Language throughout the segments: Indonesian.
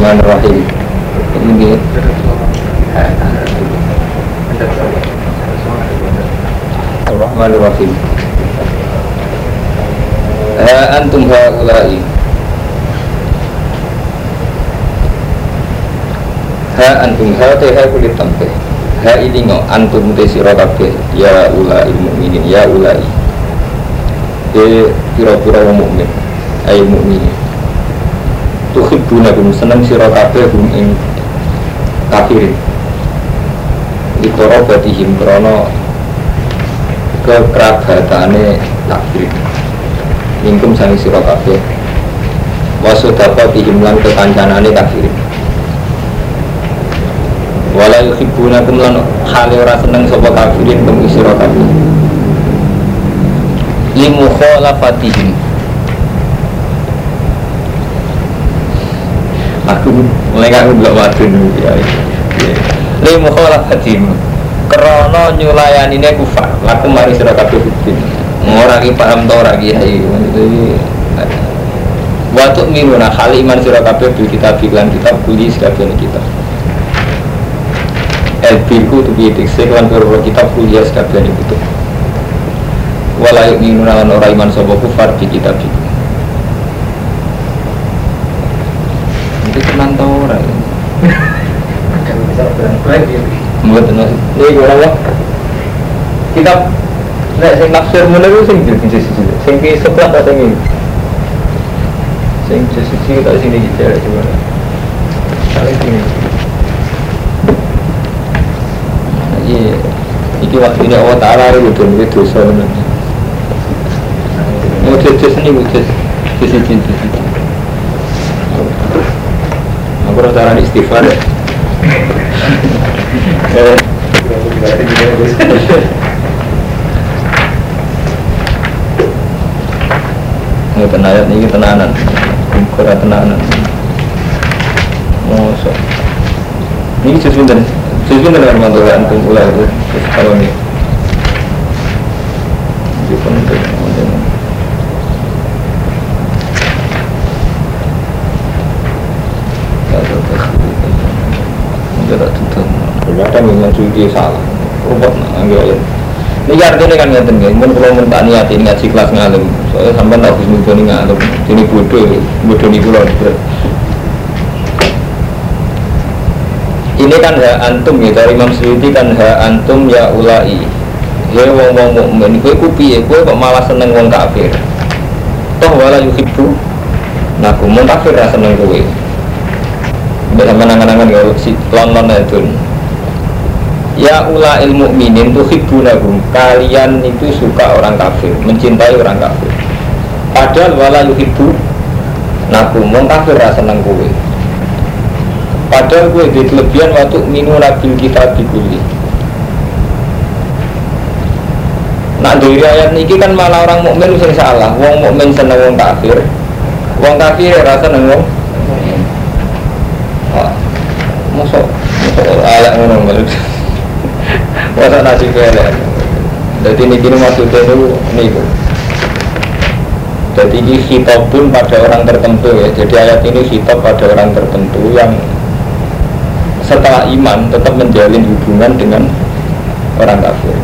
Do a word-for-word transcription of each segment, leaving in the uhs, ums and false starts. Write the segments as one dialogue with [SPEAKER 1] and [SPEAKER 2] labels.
[SPEAKER 1] Bismillahirrahmanirrahim. Ini Bismillahirrahmanirrahim. Ha antum haula'i. Ha antum ha te ha kulit tampe. Ha ini ngo antum te sira kabeh ya ulai mukminin ya ulai. E pira-pira wong mukmin, ai mukminin. Tuhibbuna kum seneng sira kabeh kum ing kafirin. Ikoro batihim krono kekerabatane kafir. Mingkum sangi sira kabeh. Wasodapa bihim lan kekancanane kafir. Wala yuhibbuna kum lan hale ora seneng sapa kafirin kum sira kabeh. Limu khalafatihim. Aku mulai aku belum waktu dulu ya. Limu khalafatihim. Karena nyulayani ini kufar. Laku mari sira kabeh fitin. Ora ki paham to ora ki hai. Wa tu'minuna hal iman sira kabeh bil kitab lan kitab kuli sakabehane kitab. El birku tu bi dikse lan karo kitab kuli sakabehane kitab. Wala yu'minuna lan ora iman sapa kufar bi kitab iki. Itu tenan to ora. Kan bisa berang-berang iki. Mboten iki ora wae. Kitab nek sing nafsir mulai ku sing siji-siji. Sing ki sebelah ta sing iki. Sing siji ta sing iki cara coba. Saling sini. Iya, iki waktu ini Allah Ta'ala itu dan itu dosa benar. Wujud ini wujud sisi cinta. Aku rasa cara istighfar ya. Ini tenayat ini tenanan, kurang tenanan. Mosok. Ini sesuatu dan sesuatu dengan mantulah antum ulah itu kalau ini. Di penting. Ternyata memang suci salah, robot ngambil. Ini artinya kan ngerti nggak? Mungkin kalau minta niat ini ngaji kelas ngalim, soalnya sampai tak bisa muncul nih ngalim. Ini bodoh, bodoh nih pulau. Ini kan ha antum ya dari Imam Suyuti kan ha antum ya ulai. Ya wong wong mukmin, kue kupi ya, kue kok malah seneng wong kafir. Toh wala yuhibbu, nah kumun kafir rasa seneng kue. Bisa menangan-angan ya si lon-lon itu. Ya ula ilmu mukminin tuhibbunahum, kalian itu suka orang kafir, mencintai orang kafir. Padahal wala yuhibbu nakum wong kafir ra seneng kowe. Padahal kowe di kelebihan waktu minu nabil kita dikuli. Nah dari ayat niki kan malah orang mukmin sing salah. Wong mukmin seneng wong kafir, wong kafir ra seneng wong. Masuk, masuk alat ngono maksud. Masa nasi kelek. Jadi ini kini maksudnya itu niku. Jadi ini khitab pun pada orang tertentu ya. Jadi ayat ini khitab pada orang tertentu yang setelah iman tetap menjalin hubungan dengan orang kafir.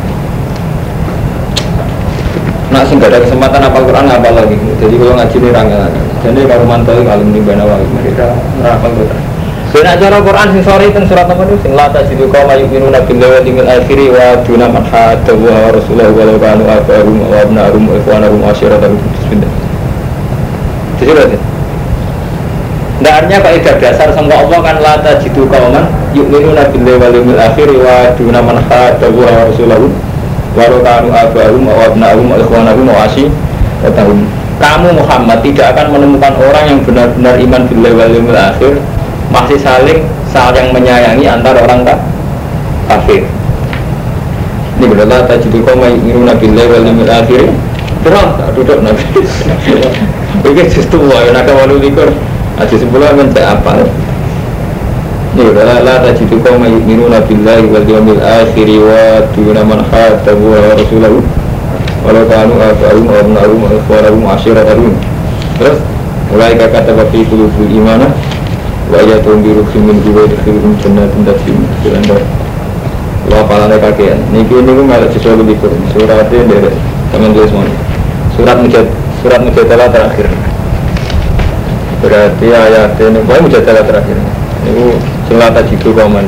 [SPEAKER 1] Nah, sing gak ada kesempatan apal Quran apal lagi. Jadi kalau ngaji ini rangga. Jadi kalau mantau kalau menimbana wali mereka merapal Quran. Dan acara Quran sing sore teng surat nomor itu sing la tajidu qauma yu'minuna billahi wal yawmil akhir wa duna man hadda wa rasulahu wa law kanu abahum wa abna'ahum wa ikhwanahum wa ashiratahum bismillah. Jadi berarti ndak artinya kaidah dasar sangka Allah kan la tajidu qauman yu'minuna billahi wal yawmil akhir wa duna man hadda wa rasulahu wa law kanu abahum wa abna'ahum wa ikhwanahum wa ashiratahum. Kamu Muhammad tidak akan menemukan orang yang benar-benar iman billahi wal yawmil akhir masih saling saling menyayangi antara orang kafir. Ini berdoa tajidu qauma yu'minuna billahi wal yawmil akhir. Terus duduk nabi. Oke justru wae nak walu likur. Aja sebelah men tak apa. Ini berdoa la tajidu qauma yu'minuna billahi wal yawmil akhir wa duna man hadda wa rasulahu walau kanu abahum wa abna'ahum wa ikhwanahum wa ashiratahum. Terus mulai kata bafi qulubul imanah wa ya tunggu rujumin gue di film jenar tindak film film lo apalannya kakean niki ini gue nggak sesuatu libur suratnya dari teman tulis mau surat mujad surat mujadalah terakhir berarti ayatnya ini pokoknya mujadalah terakhir ini selata jitu komen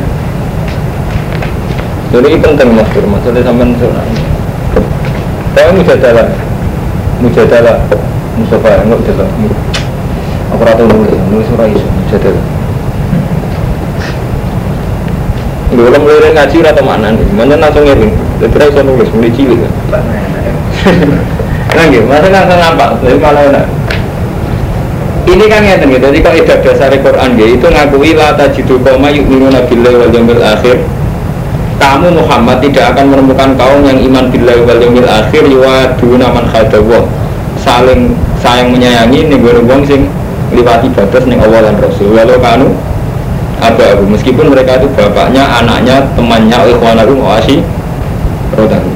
[SPEAKER 1] jadi ini penting mas Pur maksudnya sampai surat pokoknya mujadalah mujadalah Mustafa enggak jelas aku rata nulis nulis surat itu mujadalah dulu mulai ngaji atau mana nih? Mana langsung ngirim? Terus saya nulis mulai cilik kan? Nggak, masa nggak nampak? Jadi malah enak. Ini kan ngerti gitu. Jadi kalau ibadah dasar Quran itu ngakui la tajidu qauma yu'minuna billahi wal yawmil akhir. Kamu Muhammad tidak akan menemukan kaum yang iman billahi wal yawmil akhir yuwaduna man khadawah. Saling sayang menyayangi nih wong sing liwati batas ning Allah dan Rasul. Walau kanu Aba Abu, meskipun mereka itu bapaknya, anaknya, temannya, ikhwanakum, wasi, rodakum.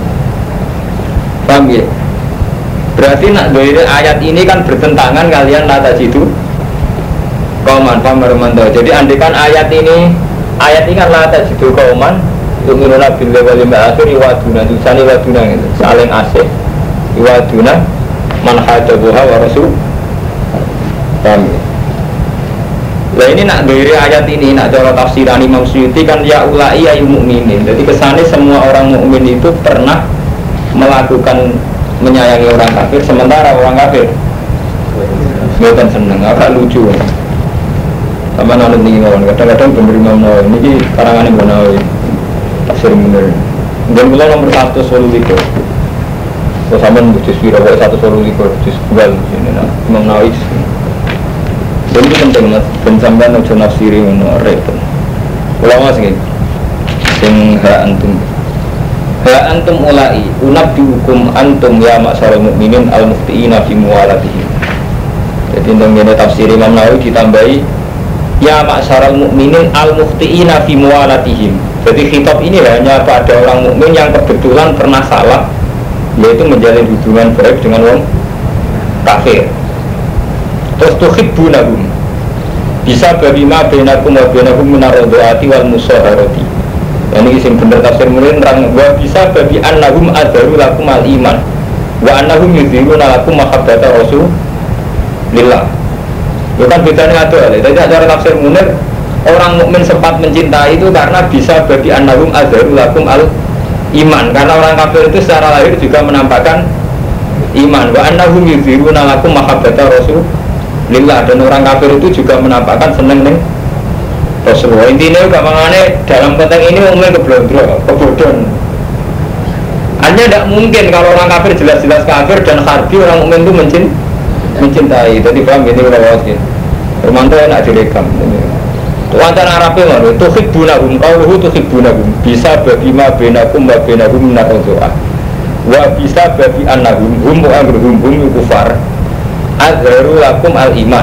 [SPEAKER 1] Paham ya? Berarti nak dari ayat ini kan bertentangan kalian nata situ kauman, paham Romanto. Jadi andikan ayat ini, ayat ini kan nata situ kauman, yu'minuna billahi wal yawmil akhir, iwaduna, tulisannya iwaduna gitu, saling asih, iwaduna, man hadabuha wa rasul. Paham ya? Nah ini nak dari ayat ini, nak cara tafsiran Imam Suyuti kan ya ulai ayu mukminin. Jadi kesannya semua orang mukmin itu pernah melakukan menyayangi orang kafir, sementara orang kafir bukan seneng, agak lucu. Sama nonton tinggi ngomong, kadang-kadang pemberi Imam Nawawi ini karangan Imam Nawawi tafsir bener. Dan mulai nomor satu solu likur. Kalau sama juz piro, satu solu likur, juz dua ini nah Imam Nawawi. Jadi penting mas, pensamban ujian nafsiri menorek. Ulama sih, sing ha antum, ha antum ulai, unab dihukum antum ya maksarul mukminin al muftiina fi muwalatihim. Jadi dengan tafsir Imam Nawawi ditambahi ya maksarul mukminin al muftiina fi muwalatihim. Jadi khitab ini hanya pada orang mukmin yang kebetulan pernah salah, yaitu menjalin hubungan baik dengan orang kafir. Terus tuhibbunahum bisa bagi ma bainakum wa bainakum minaradhaati wal musaharati. Ini isim bener tafsir mulin rang wa bisa bagi annahum adharu lakum al iman wa annahum yudhiruna lakum mahabbata rasulillah. Itu kan bedanya ada. Jadi cara tafsir munir orang mukmin sempat mencintai itu karena bisa bagi annahum adharu lakum al iman, karena orang kafir itu secara lahir juga menampakkan iman. Wa annahum yudhiruna lakum mahabbata rasul lillah, dan orang kafir itu juga menampakkan seneng nih Rasulullah. Intinya gampangannya dalam konteks ini umumnya keblondro, kebodohan. Hanya tidak mungkin kalau orang kafir jelas-jelas kafir dan harbi orang mukmin itu mencin, mencintai. Jadi paham ini udah wajib. Romanto enak direkam. Tuantan Arabnya mana? Tuhibbunahum, qauluhu tuhibbunahum. Bisa bagi ma bainakum wa bainahum min ar-radha'ah. Wa bisa bagi annahum hum wa amruhum hum kufar. Azharu lakum al-iman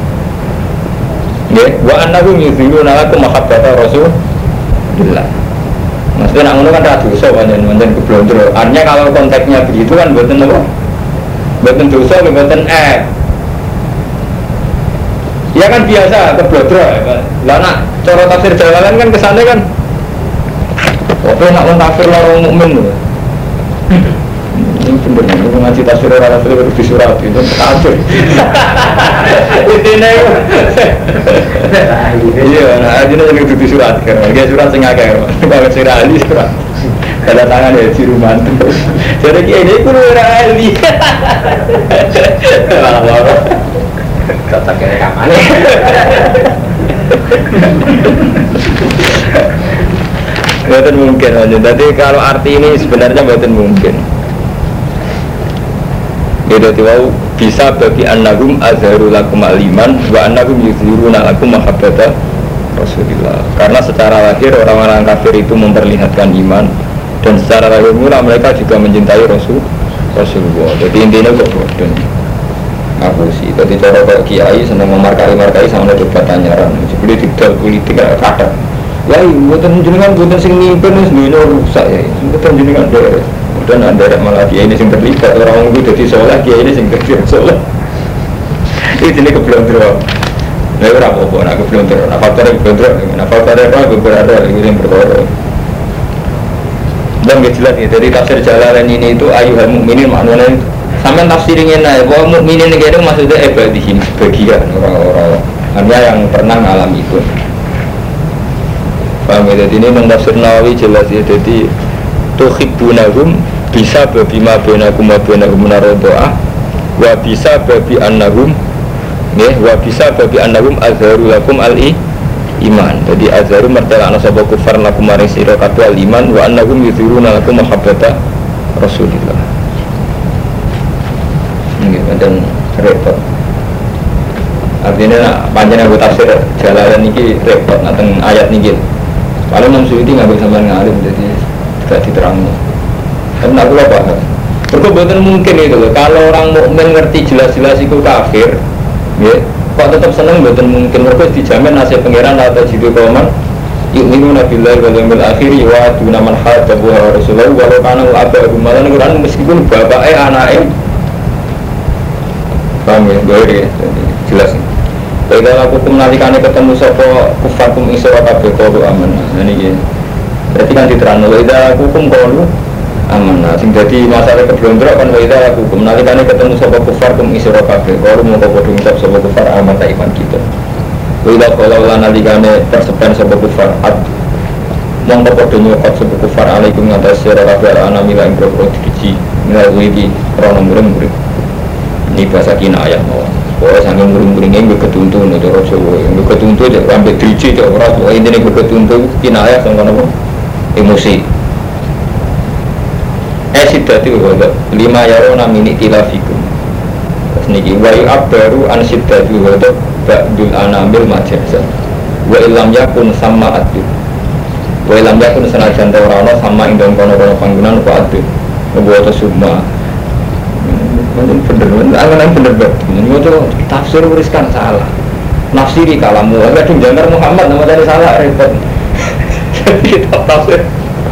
[SPEAKER 1] ya, wa annahum yuzhiruna lakum mahabbata rasulillah. Maksudnya nak ngono kan ra dosa pancen-pancen keblondro. Artinya kalau konteksnya begitu kan mboten apa? Mboten dosa, mboten eh. Ya kan biasa keblondro ya. Lah nak cara tafsir jalalan kan kesane kan opo nak wong kafir loro mukmin lho. Ini bener, ini ngaji tafsir orang tafsir di surat itu kacau. Intinya iya, nah ini yang di surat kan, dia surat sengaja kan, kalau surat ahli surat, ada tangan ya ciruman. Jadi ini pun orang ahli. Malah kata kira kapan? Betul mungkin aja. Jadi kalau arti ini sebenarnya betul mungkin. Jadi wau bisa bagi annahum azharu lakum al-iman wa annahum yuzhiruna lakum mahabbata Rasulillah. Karena secara lahir orang-orang kafir itu memperlihatkan iman, dan secara lahir mula mereka juga mencintai Rasul Rasulullah. Jadi intinya kok bodoh. Aku sih, jadi cara kok kiai senang memarkai-markai sama debat tanyaran. Jadi tidak politik kadang. Ya, buatan jenengan buatan sing mimpin wis dunia rusak ya. Buatan jenengan beres. Dan ada malah kiai ini yang terlibat, orang itu jadi soleh, kiai ini yang kerja soleh. Ini jenis keblondro. Lha ora apa-apa nek keblontor, nek faktor keblontor, nek faktor ora beberapa iki sing perkara. Dan jelas ya, dari tafsir Jalalain ini itu ayuhal mukminin maknanya sampai tafsirin aja bahwa mukminin ini maksudnya ibadihim sebagian orang-orang hanya yang pernah mengalami itu. Paham ya? Jadi ini mentafsir Nawawi jelas ya, jadi tuhibbunahum bisa babima bainakum wa bainahum naradha'ah wa bisa babi annahum ya wa bisa babi annahum azharu lakum al-i iman. Jadi azharu mertelakna sapa kufar lakum maring sira kabeh al-iman wa annahum yuzhiruna lakum mahabbata Rasulillah. Ini dan repot. Artinya panjang aku tafsir Jalalain ini repot tentang ayat ini. Kalau Imam Suyuti nggak bisa ngalim jadi tidak diterangkan. Karena aku lupa kan. Berkebetulan mungkin itu loh. Kalau orang mukmin ngerti jelas-jelas itu kafir, ya, kok tetap seneng betul mungkin mereka dijamin nasib pangeran atau jitu kauman. Yu'minu nabillahi wal yawmil akhir wa duna man hadabu rasulullah walau kana abahu malan Quran meskipun bapaknya anaknya. Paham ya? Boleh jelas. Baiklah aku menalikannya ketemu sopo kufarkum isra kabeh qalu amanna. Nah niki. Berarti kan diterangno ida hukum qalu amanna. Sing dadi masalah keblondrok kan ida aku menalikannya ketemu sopo kufarkum isra kabeh qalu mongko padha ngucap sopo kufar aman ta iman kita. Ida qala lan nalikane tersepen sopo kufar ad mongko padha nyokot sopo kufar alaikum ngatas sira kabeh ana mila ing pro diji menawi iki rono murid-murid. Ini bahasa kinayah mawon. Oh, sambil muring-muringnya gue ketuntun itu Rasulullah, gue ketuntun aja, sampai driji aja orang tua ini gue ketuntun kinayah sama apa? Emosi. Eh siddati wadah lima yarona mini tilafikum. Terus niki wayu abbaru an siddati wadah ba'dul anamil majazan. Wa ilam yakun sama adil. Wa ilam yakun senajan tawarana sama indon kono-kono panggungan wa adil. Ngebuat semua. Mungkin bener, angan-angan bener banget. Ini itu tafsir uriskan salah. Nafsiri kalamu, kadang jangkar Muhammad nama tadi salah repot. Kitab tafsir.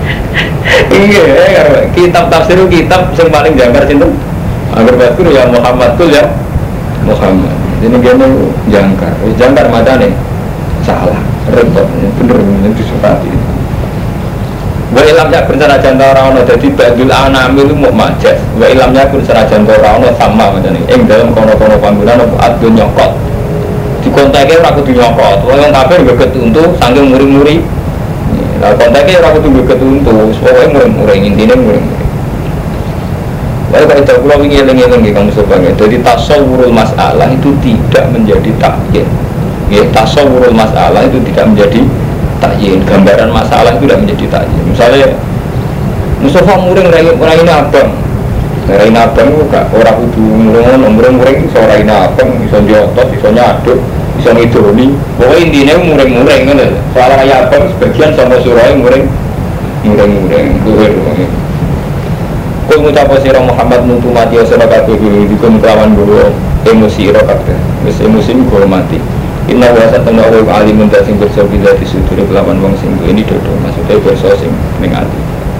[SPEAKER 1] Iya, kitab tafsir itu kitab yang paling jangkar cinta. Agar batur ya Muhammad tuh ya Muhammad. Ini gini jangkar, jangkar mata nih salah, repot. Bener bener disukati. Wa ilam yakun sanajan ta ora ana dadi badul anamil mu majas. Wa ilam yakun sanajan ta ora ana sama ngene. Ing dalem kono-kono panggonan apa adun nyokot. Dikonteke ora kudu nyokot. Wong kafir geget untu saking muri-muri. Lah konteke ora kudu geget untu, pokoke muri-muri intine muri-muri. Wae kok itu kula wingi eling-eling nggih Kang Mustofa. Jadi tasawwurul masalah itu tidak menjadi takyin. Nggih, tasawwurul masalah itu tidak menjadi takyin, gambaran masalah itu tidak menjadi takyin. Misalnya Mustafa muring orang ini abang, orang ini abang itu gak orang kudu muring muring muring seorang ini abang, bisa diotot, bisa nyaduk, bisa ngidoni. Pokoknya intinya muring-muring kan, soal raya abang sebagian sama surai muring muring-muring duhur. Kau mengucap sirah Muhammad nutu mati asal kabeh dikon kelawan guru emosi ira kabeh, wis emosi guru mati. Inna wa satana wa alimun ta sing kersa bila disudure kelawan wong sing ini dodo maksudnya kersa sing ning ati.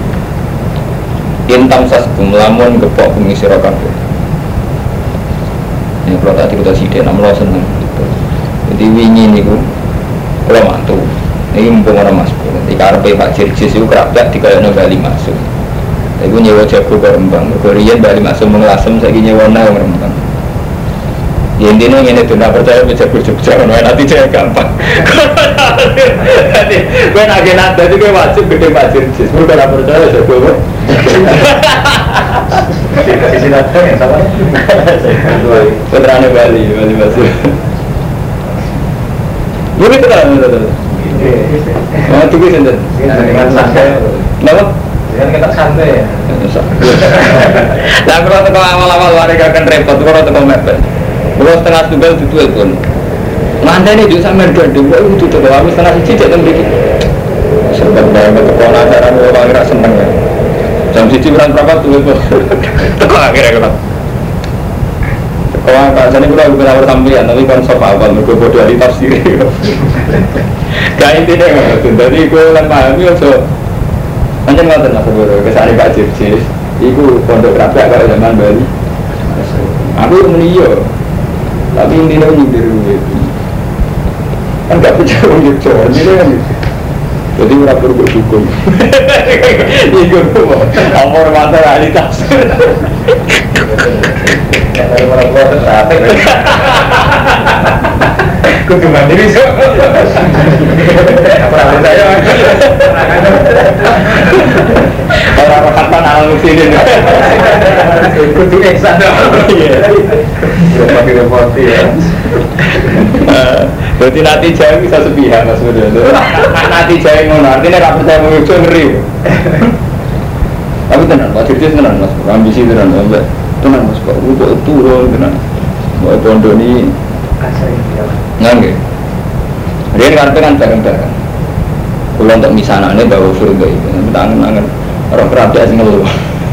[SPEAKER 1] Intam saskum lamun gepok bumi sira kabeh. Ini kalau tak cerita sithik namlo seneng gitu. Jadi wingi niku kula mantu. Iki mumpung ora Mas. Nanti karepe Pak Jirjis iku kerapyak dikayakno Bali Masuk. Iku nyewa jago kok Rembang. Riyen Bali Masuk menglasem saiki nyewa nang Rembang. Ya intinya ini tuh nggak percaya bisa berjubah, nanti saya gampang. Nanti gue nagih nada itu gue wajib gede wajib sih, gue nggak percaya saya gue. Sisi nada yang sama. Putrane Bali, Bali masuk. Gue itu kan betul. Oh tuh gue sendiri. Dengan santai. Kenapa? Dengan kita santai ya. Nah kalau tuh awal-awal warga kan repot, kalau tuh mepet. Kalau setengah tunggal itu tuh pun, mantan ini juga sama dua dua itu tuh kalau kami setengah siji jadi sedikit. Sebenarnya bertekan acara orang kira seneng ya. Jam siji berapa berapa tuh itu, tekan akhirnya kalau. Kalau kat sana kita bukan awal sambilan, tapi kan sofa awal mereka bodoh dari tafsir. Kayak itu deh, jadi gue kan pahami so. Macam mana tuh sebenarnya kesari Pak Jirjis, itu pondok rakyat kalau zaman Bali. Aku meniyo. Tapi intinya nyindir itu Kan nggak percaya orang Jogja, ini kan. Jadi nggak perlu berdukung. Ikut amor mata realitas. Kalau orang tua tertarik. Kudu mandiri sih. Apa saya? Orang kapan alam sini? Kudu eksan. Iya. Pakai repot ya. Berarti nanti jauh bisa sepihak mas Budi. Nanti jauh ngono artinya nggak percaya mengikut ngeri. Tapi tenang, Pak Dirjen tenang mas, ambisi tenang, tenang mas, Pak untuk turun tenang. Mau pondok ini nggak? Dia ngerti kan bareng-bareng. Kalau untuk misalnya ini bawa surga itu, tangan-tangan orang kerabat asing ngeluh.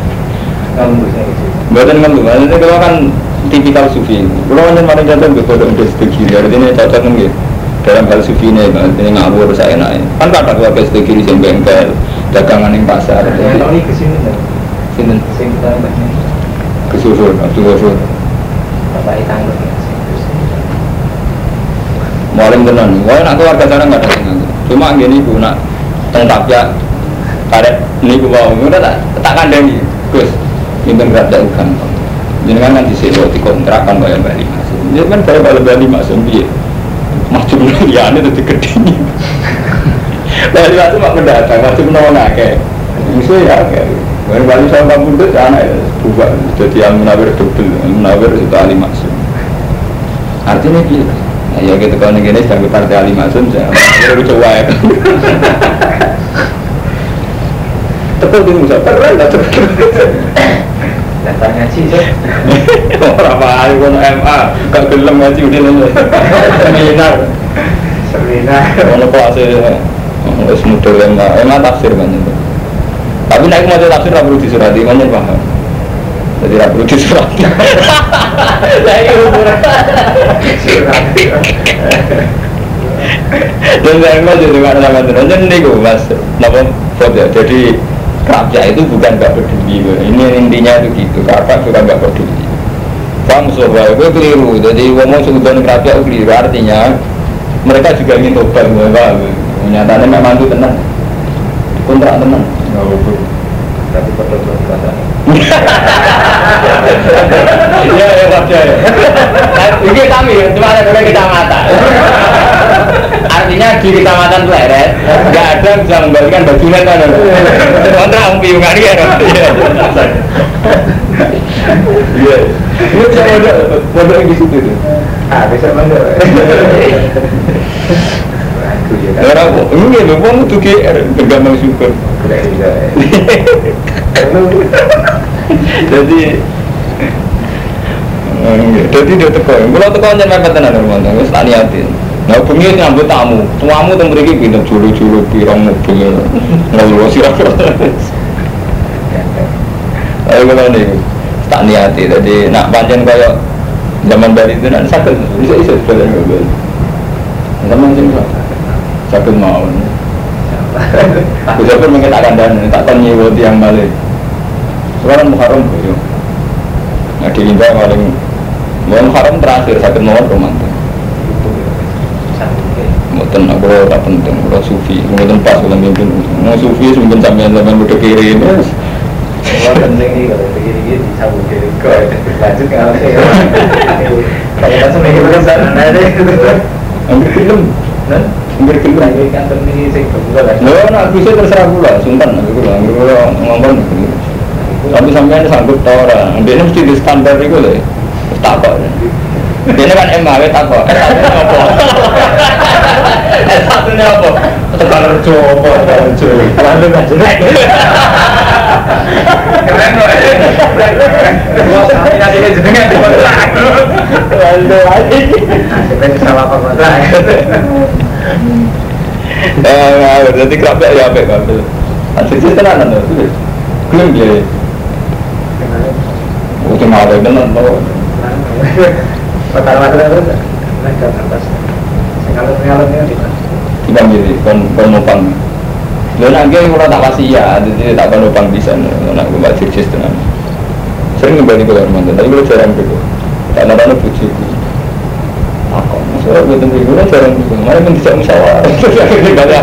[SPEAKER 1] Bukan ngeluh, maksudnya kalau kan tipikal sufi. Kalau hanya paling contoh betul untuk studi, artinya cocok mungkin dalam hal sufi ini, artinya ngawur saya naik. Kan kadang keluarga studi di sini bengkel, dagangan di pasar. Kalau ini kesini, sini, sini kita banyak. Kesusun, kesusun. Apa itu tanggung? Maling tenan, wah nak keluarga sana nggak ada yang cuma gini bu nak tentap ya, karet ini bu mau, udah tak tak kandang Gus, minta kerja bukan, jadi kan nanti sewa di kontrakan bayar balik masuk, jadi kan bayar balik balik masuk biar, macam ya ini tuh digedini, balik masuk mak mendatang, macam nona kayak, misalnya ya kayak, bayar balik sama kampung itu anak bukan, jadi yang menawar double, menawar itu ahli masuk, artinya gitu. Ya gitu kalau negara sebagai partai ahli masuk, saya baru coba ya. Tepat di musa, keren lah tepat. Datang ngaji sih. Berapa hari pun M A, gak gelem ngaji udah nih. Seminar, seminar. Kalau kelasnya, harus mudah M A, M A tafsir banyak. Tapi naik mau tafsir tak perlu disurati, banyak paham. Jadi tak perlu disurati. Saya ukuran surati. Dan saya mau jadi mana nama terus. Jadi ni gue mas, nama foto. Jadi kerja itu bukan gak peduli. Ini intinya itu gitu. Kakak bukan gak peduli. Paham sobat? Gue keliru. Jadi ngomong sebutan kerja itu keliru. Artinya mereka juga ingin tobat. Nyatanya memang itu tenang. Kontrak tenang. Gak betul. Tapi perlu berkata. Iya, ya, wajar. Ini kami, cuma ada dua kecamatan. Artinya di kecamatan Pleret, nggak ada bisa membalikan bajunya kan? Kontrak umpiungan ya. Iya. Ini saya ada pondok di situ tuh. Ah, bisa pondok. Orang ini memang tuh kayak bergambar syukur. Jadi, jadi dia teko. Kalau teko hanya mereka tenar rumah tangga, tak niatin. Nah, pengen nyambut tamu, tamu tuh mereka pindah julu-julu pirang mobil, ngeluh sirah. Ayo kalau ni, tak niati. Jadi nak panjang kayak zaman dari itu nak sakit, bisa bisa sepeda mobil. Zaman jenis sakit mau. Aku pun mengatakan dan tak tanya waktu yang balik. Sekarang Muharram tu, nah di India paling Muharram terakhir sakit mau romantis. Mungkin aku tak penting, kalau sufi, mungkin pas kalau mungkin mau sufi mungkin sampai zaman udah kiri ini. Kalau penting ni kalau kiri kiri disambung kiri kau lanjut ke alam saya. Kalau macam ni kita sana ada. Ambil film, kan? Ambil film lagi kantor ni saya kebuka lagi. No, nak bisa terserah pula, sultan nak pula, ambil pula ngomong. Tapi sampai ada sanggup tau orang, dia mesti di standar itu lah, takut. Dia kan M A W takut, eh satunya apa? Tekan rejo apa? Rejo, lalu macam ni. Keren loh, nanti dia jenengan di mana? Lalu lagi, kita salah apa mana? Eh, jadi kerap ya apa kan? Asisten tenan tu, klaim dia. Itu malah benar loh. Pertama-tama itu naik ke atas. Sekarang-sekarangnya di mana? Di Bangkiri, kon kon nopang. Lalu nanti kalau tak pasti ya, jadi tak kon nopang di sana. Nak buat sukses dengan. Sering kembali ke Kalimantan, tapi kalau jarang begitu. Tak ada bujuk. Aku. Masalah gue tentang gue jarang gue, mana pun tidak musyawarah. Ini banyak.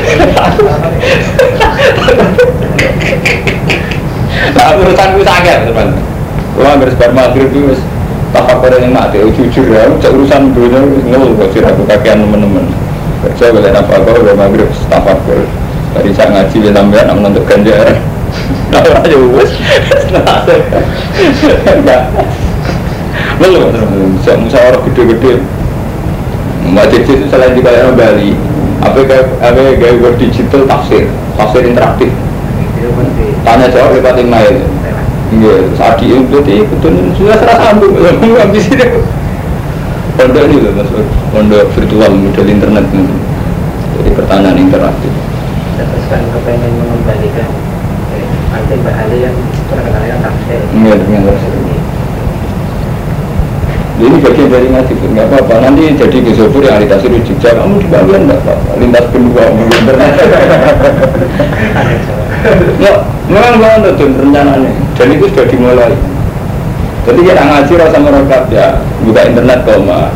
[SPEAKER 1] Nah urusan gue sangat teman. Gue hampir sebar maghrib itu tapak pada yang mati, jujur ya. Urusan gue ngeluh kok sih aku kakean teman-teman. Kerja gue lihat apa kau udah maghrib tapak gue. Tadi saya ngaji dia tambahan, nak menentuk ganjaran. Nah aja wes, nah enggak. Ngeluh teman-teman. Saya musyawarah gede-gede. Mbak Cici selain di Kalimantan Bali, apa apa gaya digital tafsir, tafsir interaktif. Tanya jawab lewat email. Iya, saat itu berarti betul sudah serasa sambung, sambung habis itu. Pondok ini loh maksud, pondok virtual model internet ini. Jadi pertanyaan interaktif.
[SPEAKER 2] Terus kan kepengen mengembalikan nanti bahaya yang terkenal tafsir.
[SPEAKER 1] Iya, dengan tafsir. Ini bagian dari ngaji, nggak apa-apa. Nanti jadi gesopur yang ahli tafsir Jogja, kamu di bagian nggak apa-apa. Lintas benua, internet. Ya, memang banget tuh rencananya. Dan itu sudah dimulai. Jadi kita ngaji rasa merokat ya, buka internet koma.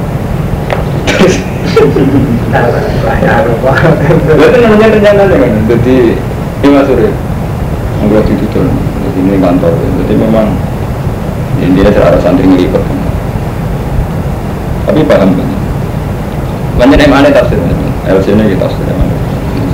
[SPEAKER 1] Itu namanya rencananya kan. Jadi ini masuk ya, nggak ditutup. Jadi ini kantor. Jadi memang intinya serasa santri ngelipet. Tapi paham kan? Banyak yang aneh tafsir, L C-nya kita tafsir yang aneh.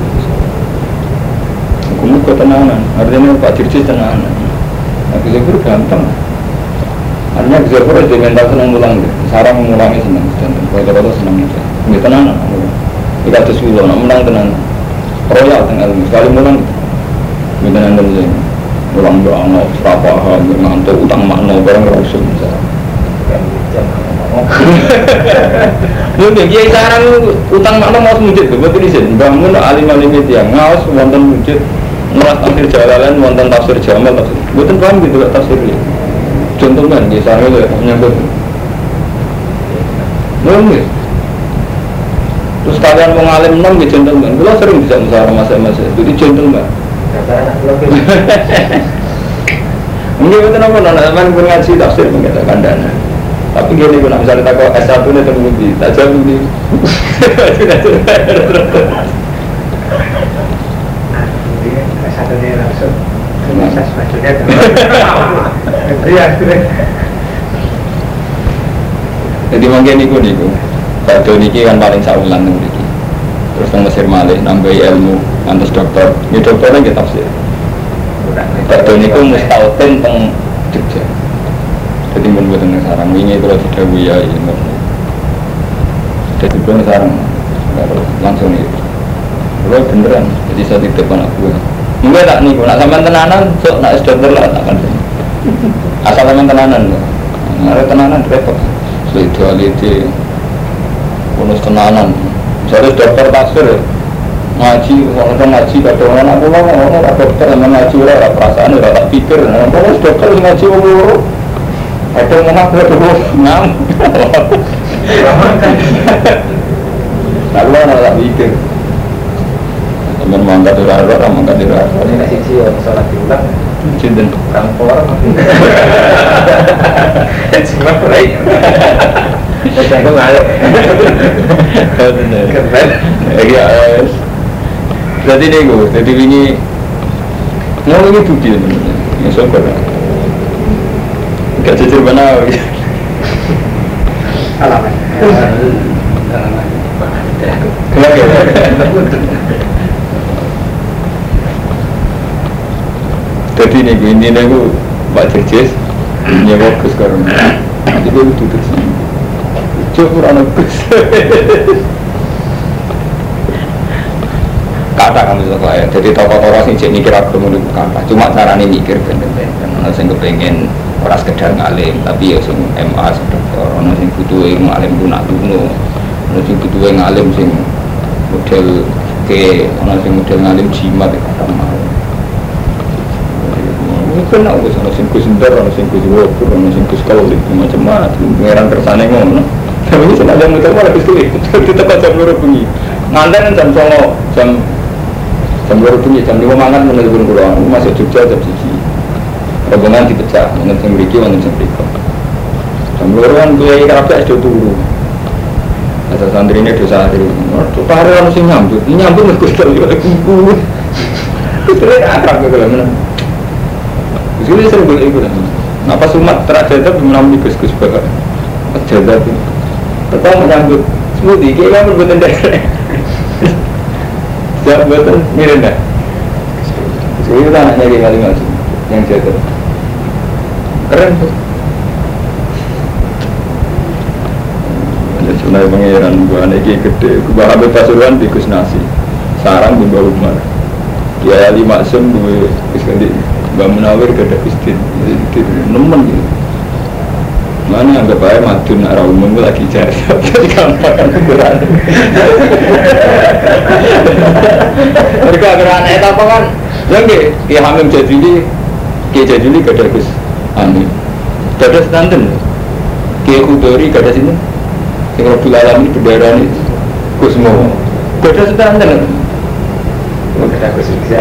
[SPEAKER 1] Hukum itu ketenangan, artinya Pak Dirjis tenanan. Nah, Gizabur gampang. Artinya Gizabur itu mental senang ngulang, sarang mengulangi senang. Kata-kata senang aja. Ini tenanan. Kita ada sulo, nak menang tenanan. Royal tengah ilmu, sekali menang. Ini tenanan saja. Ulang doang, serapah, ngantuk, utang makna, barang rasul misalnya. Mungkin kiai sarang utang makna mau mujud tuh, betul izin. Bangun alim-alim itu yang ngawas wonten mujud, nolak tafsir jalalan, wonten tafsir jamal, tafsir. Betul paham gitu lah tafsirnya. Contoh kan kiai sarang itu menyambut. Mungkin. Terus kalian mau ngalim enam gitu contoh kan. Kalau sering bisa musyawarah masa-masa, jadi contoh kan. Mungkin betul apa nona teman ngaji tafsir mengatakan dana. Tapi gini, kalau misalnya tak kau S satu nih terbukti, tak jauh di.
[SPEAKER 2] S satu nya langsung, proses majunya Iya.
[SPEAKER 1] Jadi mungkin itu nih, Pak Doni kan paling saulan nih. Terus yang Mesir Malik nambahi ilmu, antus dokter, ini dokternya kita tafsir. Pak Doni itu mustautin teng Jogja. Jadi pun buat yang sarang ini kalau tidak buaya ini, jadi pun sarang langsung itu, kalau beneran, jadi saya tidak anak buah. Enggak tak nih, nak sampai tenanan, so nak sudah terlalu tak kan? Asal sampai tenanan, ada tenanan repot. Spirituality, bonus tenanan. Misalnya dokter tafsir, ngaji, orang ngaji, kata orang aku mau orang dokter yang ngaji orang perasaan orang tak pikir, orang dokter ngaji orang. Ada yang mengaku dulu, ngam. Aku lah tak pikir. Teman mangkat di rara, orang mangkat di rara.
[SPEAKER 2] Ini kasih sih orang sholat diulang.
[SPEAKER 1] Cinten.
[SPEAKER 2] Rampor. Cuma baik. Saya kok ngaluk. Keren.
[SPEAKER 1] Ya, jadi ni gue, jadi ini mau ini bukti teman-teman. Ya syukur. Gak jujur benar.
[SPEAKER 2] Alamat.
[SPEAKER 1] Jadi ni gue ini ni gue Pak Dirjis nyewa bus sekarang. Jadi gue duduk sini. Coba anak bus. Kata kami sekolah. Jadi tokoh-tokoh sing jadi mikir agama itu kata. Cuma cara ni mikir benda-benda. Karena saya kepengen orang sekedar ngalim, tapi ya sing M A sedekor, orang sing butuh ilmu alim guna duno, orang sing butuh ngalim sing model ke, orang sing model ngalim jimat itu kata mau. Mungkin aku sana sing kusindar, orang sing kusiwopur, orang sing kuskaulik, macam-macam, pengeran kersane ngono. Tapi ini ada muter malah pistoli, itu tepat jam dua bunyi. Nganten jam songo, jam jam dua bunyi, jam lima mangan menelpon kurang, masuk Jogja jam siji. Rombongan dipecah, mungkin yang memiliki, mungkin yang berikut. Jam luar kan gue kerapnya sudah turun. Asal santri ini dosa hari. Tuh hari orang sing nyambut, nyambut nggak kusel juga ibu. Itu akrab gitu lah mana. Jadi sering boleh ikut. Napa sumat terakhir itu menampi gus-gus bakal. Jaga tu. Pertama menyambut. Semudi, kira kamu betul dah. Siap betul, mirip dah. Jadi kita anaknya kayak kali ngasih yang jaga. Keren tuh. Sebenarnya pengiran buah lagi gede. Kubah Habib Pasuruan tikus nasi. Sarang di bawah rumah. Dia lima sem gue iskandi. Mbak Munawir gada istin. Jadi nemen gitu. Mana anggap aja madun arah umum lagi jari. Jadi gampang kan ukuran. Mereka ukuran itu apa kan? Lagi dia hamil jadi dia jadi gada gus hamil. Gada standar. Dia kudori gada sini. Yang Rabbul Alamin bendera ini Gus mau beda standar beda Gus bisa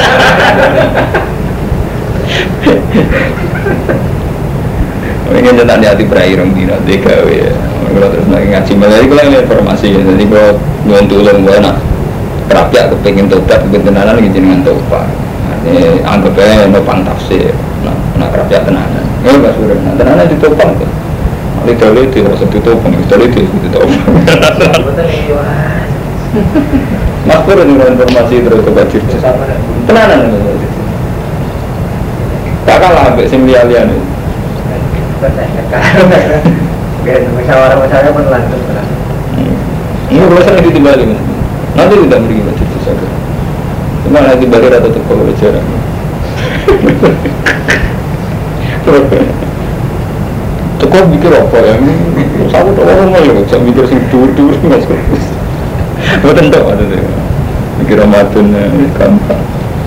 [SPEAKER 1] ini tentang hati berakhir dina tiga ya kalau terus lagi ngaji malah itu lagi informasi jadi kalau ngontul yang gue nak kerapiak kepengen tobat kepengen tenanan lagi jenengan tobat ini anggap aja nopang tafsir nak kerapiak tenanan ya pas udah tenanan ditopan tuh lidah lidah, rasa ditopang, lidah lidah, ditopang. Mas Pur ini informasi terus ke Bajir. Tenanan itu. Tak kalah sampai sembilan itu.
[SPEAKER 2] Musyawarah-musyawarah pun lanjut.
[SPEAKER 1] Ini bosan itu dibalik. Nanti tidak pergi Bajir saja. Cuma nanti balik atau tekol bicara. Tekor mikir apa ya? Saya tak orang malu, saya mikir sing dur-dur mas. Betul tak ada tu. Mikir Ramadan gampang.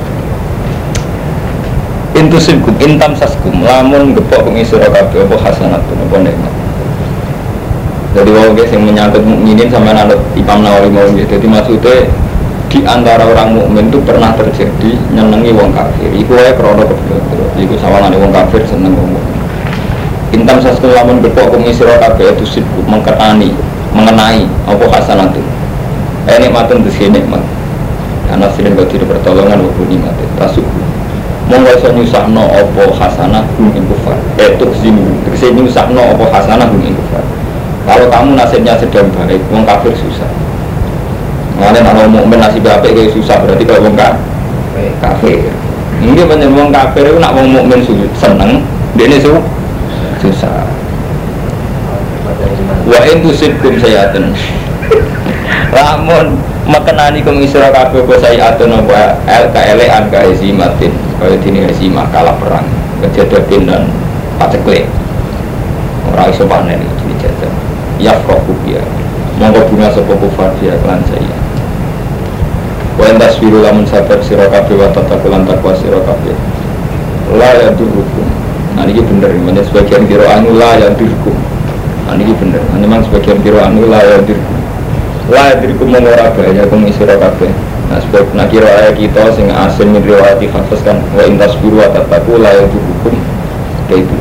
[SPEAKER 1] Intusibkum, intam saskum, lamun gepok pengisra kabeh apa hasanat apa nikmat. Jadi wong guys yang menyangkut mukminin sama anak Imam Nawawi mau gitu. Jadi maksudnya di antara orang mukmin itu pernah terjadi nyenengi wong kafir. Iku wae krana kebetulan. Iku sawangane wong kafir seneng wong mukmin. Intam saskum lamun gepok pengisra kabeh itu sibuk mengkenani, mengenai apa hasanat itu. Eh nikmatun itu nikmat. Karena sering kau tidak pertolongan walaupun nikmat itu tasuk. Monggo iso nyusahno apa hasanah hum ing kufar. Eh tuk zinu, tegese nyusahno apa hasanah hum ing kufar. Kalau kamu nasibnya sedang baik, wong kafir susah. Ngene ana mukmin nasib apik kaya susah berarti kalau wong kafir. Mungkin banyak wong kafir itu nak wong mukmin seneng, dene susah. Susah. Wa in tusibkum sayaten. Lamun makenani kum isra kabeh apa sayatun apa el kaelean ka izimatin kaya dene izimah kalah perang kejadian dan paceklik ora iso panen iki dijajah ya froku dia monggo bunga sapa kufar dia lan saya wa endas wiru lamun sabar sira kabeh wa tatakulan takwa sira kabeh la ya durukum nah ini bener ini sebagian kira anu la ya durukum nah ini bener memang sebagian kira anu la ya durukum la diriku mengora bahaya kum isra kabeh. Nah sebab nak kira ayat kita sing asin min riwayati hafaz kan wa intas biru ataku la yuhukum itu.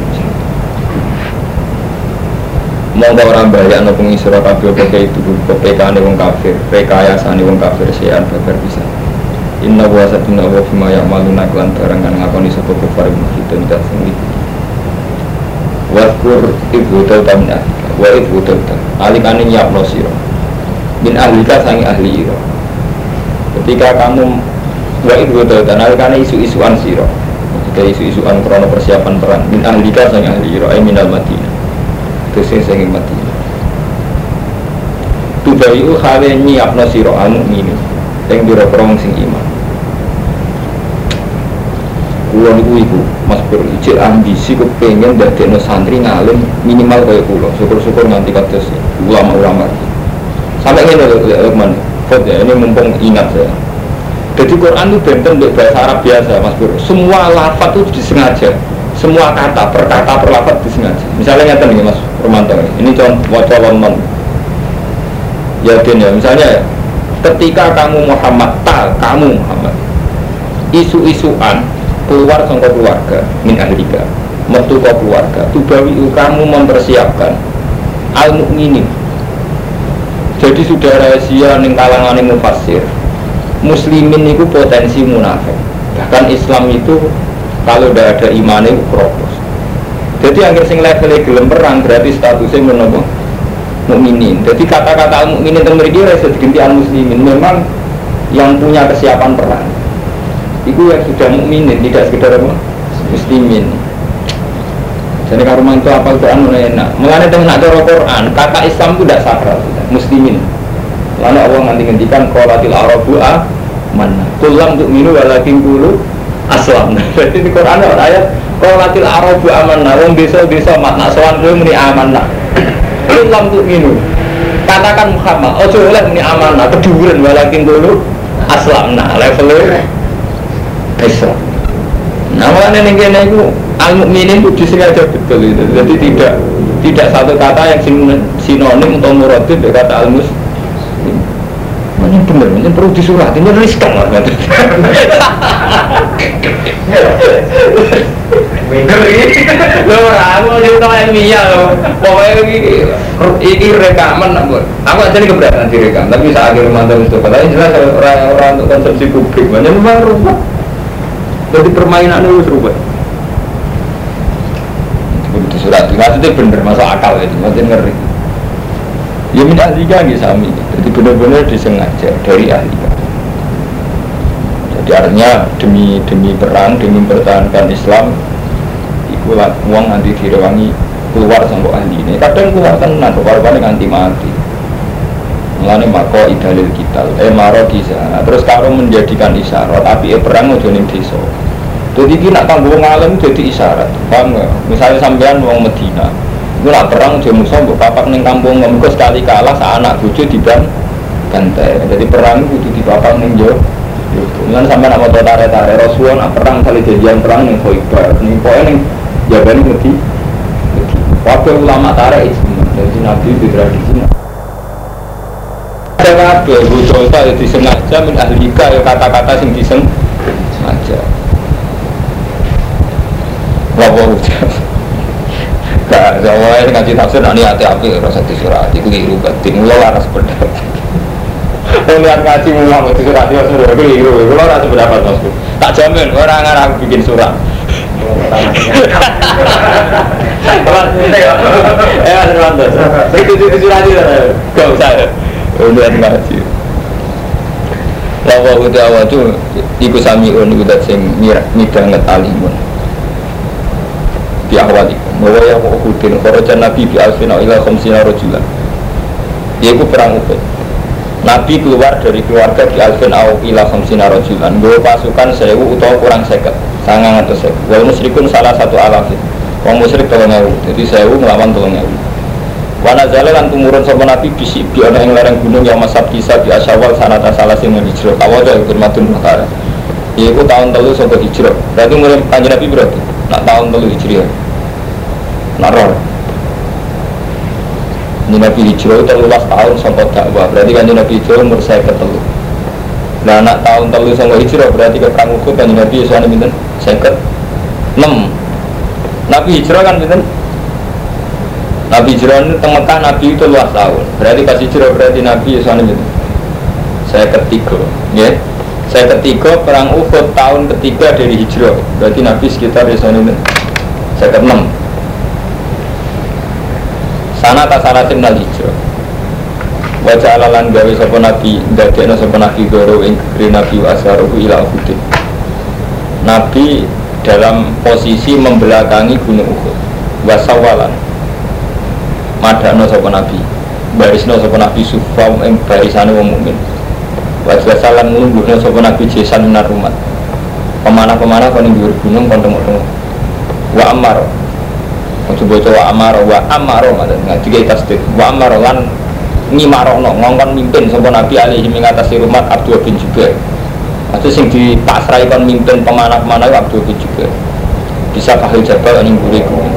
[SPEAKER 1] Monggo ora bahaya ana kum isra kabeh pokoke itu pekane wong kafir, rekayasane wong kafir sean babar bisa. Inna wa satuna wa fima ya'maluna lan barang kan ngakoni sapa kufar musyrikin dan sing iki. Waskur ibu tautamna wa ibu tautam alikane nyapno sira. Bin ahlika sangi ahli iro. Ketika kamu wa idhu dan karena isu-isuan siro, ketika isu-isuan krono persiapan perang. Bin ahlika sangi ahli iro, ay minal Madinah. Terus sangi Madinah. Tubayu khale nyiapno siro anu ini, yang biro-birong sing iman. Kulon iku iku, Mas Pur, ijil ambisi kepengen dadekno santri ngalim minimal kaya kulo. Syukur-syukur nganti kados ulama-ulama. Sampai ini Lukman, ya ini mumpung ingat saya. Jadi Quran itu benten untuk bahasa Arab biasa, Mas Bro. Semua lafaz itu disengaja, semua kata per kata per lafaz disengaja. Misalnya nyata nih Mas Romanto, ini contoh wajah non. Ya den ya, misalnya ketika kamu Muhammad, tak kamu Muhammad, isu-isuan keluar sama keluarga, min ahlika, metu ke keluarga, tubawi kamu mempersiapkan al mukminin. Jadi sudah rahasia ning kalangan mufassir. Muslimin itu potensi munafik. Bahkan Islam itu kalau tidak ada iman itu kropos. Jadi akhir sing levelnya gelem perang berarti statusnya menapa? Mukminin. Jadi kata-kata mukminin itu mriki ora iso diganti al muslimin. Memang yang punya kesiapan perang. Itu yang sudah mukminin, tidak sekedar apa? Muslimin. Jadi kalau rumah itu apal Quran mana enak. Mengenai dengan cara Quran, kata Islam itu tidak sakral, muslimin. Lalu Allah nanti ngendikan qolatil arabu a mana. Kulam untuk minu walakin kulu aslam. Jadi di Quran ada ayat qolatil arabu amanah. Wong desa-desa makna sowan kowe muni amanah. Kulam untuk minu. Katakan Muhammad, ojo oleh muni amanah, keduren walakin kulu aslam. Nah, levelnya Islam. Nah, makanya ning kene iku al-mukminin itu disengaja betul itu. Jadi tidak tidak satu kata yang sinonim atau muradif dengan kata al-muslim. Ini benar, ini perlu disurat, ini riskan lah. Bener ini. Loh, aku cerita ilmiah loh. Pokoknya ini rekaman, aku aja ini keberatan direkam. Tapi saat akhir mantap itu, katanya jelas orang-orang untuk konsumsi publik. Banyak memang rumah. Jadi permainan itu serupa. Begitu surat, maksudnya bener, masuk akal itu, maksudnya ngeri. Ya min ahlika nggih sami. Jadi benar-benar disengaja dari ahlika. Jadi artinya demi demi perang, demi mempertahankan Islam, iku uang nanti direwangi keluar sama ahli ini. Kadang keluar tenan, keluar-keluar nganti mati. Mulane mako idalil kita, eh maro kisah. Terus kalau menjadikan isyarat, tapi eh perang ojo ning desa. Jadi kita nak kanggo ngalim jadi isyarat. Paham enggak? Misalnya sampean wong Medina, itu nak perang dia musuh, bapak neng kampung ngomong sekali kalah, anak bucu di ban bantai. Jadi perang itu di bapak neng jo. Dengan sampai nak motor tarik-tarik Rasulullah nak perang kali jadian perang neng Khoibar, neng poin neng jaban mesti. Waktu ulama tarik itu, jadi nabi di tradisi. Ada apa? Bucu itu disengaja min ahlika, ya kata-kata sing disengaja. Wabah ucap. Gak, soalnya ngaji tafsir nanti hati-hati rasa disurat itu keliru batin, mula laras pendapat. Lihat ngaji mula itu surat itu sudah keliru, mula laras pendapat maksud. Tak jamin orang orang aku bikin surat. Eh mas Rwanto, itu itu surat itu gak usah. Lihat ngaji. Wabah ucap awal itu ikut samiun ikut sing midang ngetalimun. Di awal itu, bahwa yang mengukutin kharajan Nabi bi alfina ila khamsina rajulan. Yaitu perang Uhud. Nabi keluar dari keluarga di alfin au ila khamsina rajulan. Bawa pasukan sewu atau kurang seket, sangang atau seket. Wal musyrikun salah satu alafin. Wong musyrik tolong ewu, jadi sewu melawan tolong ewu. Wana jalan tumurun sama Nabi bisik di ana ing lereng gunung yang masab kisah di Asyawal sanata salah sing hijrah. Awal dari firmatun perkara. Yaitu tahun telu sangka hijrah. Berarti mulai kanjeng Nabi berarti nak tahun telu hijriah. Naror. Ini Nabi hijrah telulas tahun sampai dakwah. Berarti kan Nabi hijrah umur saya ketelu. Nah nak tahun telu sampai hijrah berarti ke perang Uhud kan Nabi Yesus ini minten saya ke enam. Nabi hijrah kan minten. Nabi hijrah ini Mekah Nabi itu telulas tahun. Berarti pas hijrah berarti Nabi Yesus ini minten saya ketiga. Ya. Saya ketiga perang Uhud tahun ketiga dari hijrah. Berarti Nabi sekitar Yesus ini saya ke enam. Sana tasalatin nal hijrah. Wajah alalan gawe sapa nabi, ndadekno sapa nabi goro ing gegere nabi asharuhu ila Uhud. Nabi dalam posisi membelakangi gunung Uhud. Wasawalan. Madano sapa nabi, barisno sapa nabi sufa ing barisane wong mukmin. Wajah salan nglungguhno sapa nabi jesan minar umat. Pemanah-pemanah kon ing dhuwur gunung kon tengok-tengok. Wa ammar coba coba amaro wa amaro macam ngaji kita tasdid wa amaro lan ngimarono ngongkon mimpin sapa Nabi alaihi mengatasi rumah Abdul bin Jubair. Itu sing dipasrai kon mimpin pemanah-pemanah Abdul bin Jubair. Bisa kahil jabal ning mburi gunung.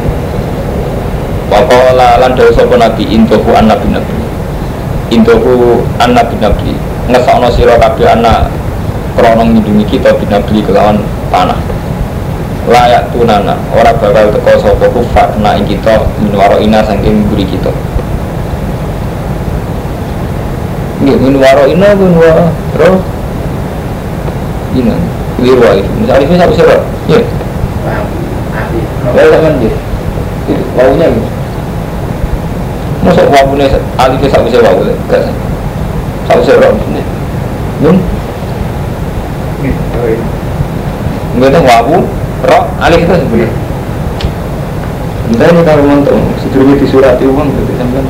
[SPEAKER 1] Wa qala lan dawuh sapa Nabi intuhu annabi nabi. Intuhu annabi nabi. Ngesokno sira kabeh anak krana ngindungi kita binabi kelawan panah. Layak tunana orang bakal teko sapa kufar na ing kita minwaro ina saking mburi kita. Nggih min waro ina min waro ina liru itu misalnya itu satu serot ya ya teman dia itu wawunya gitu masuk wawunya alifnya satu serot gak satu serot ini nun nggak tahu wawu roh alif itu sebenarnya entah ini kalau mantuk sedikit disurati uang jadi sampai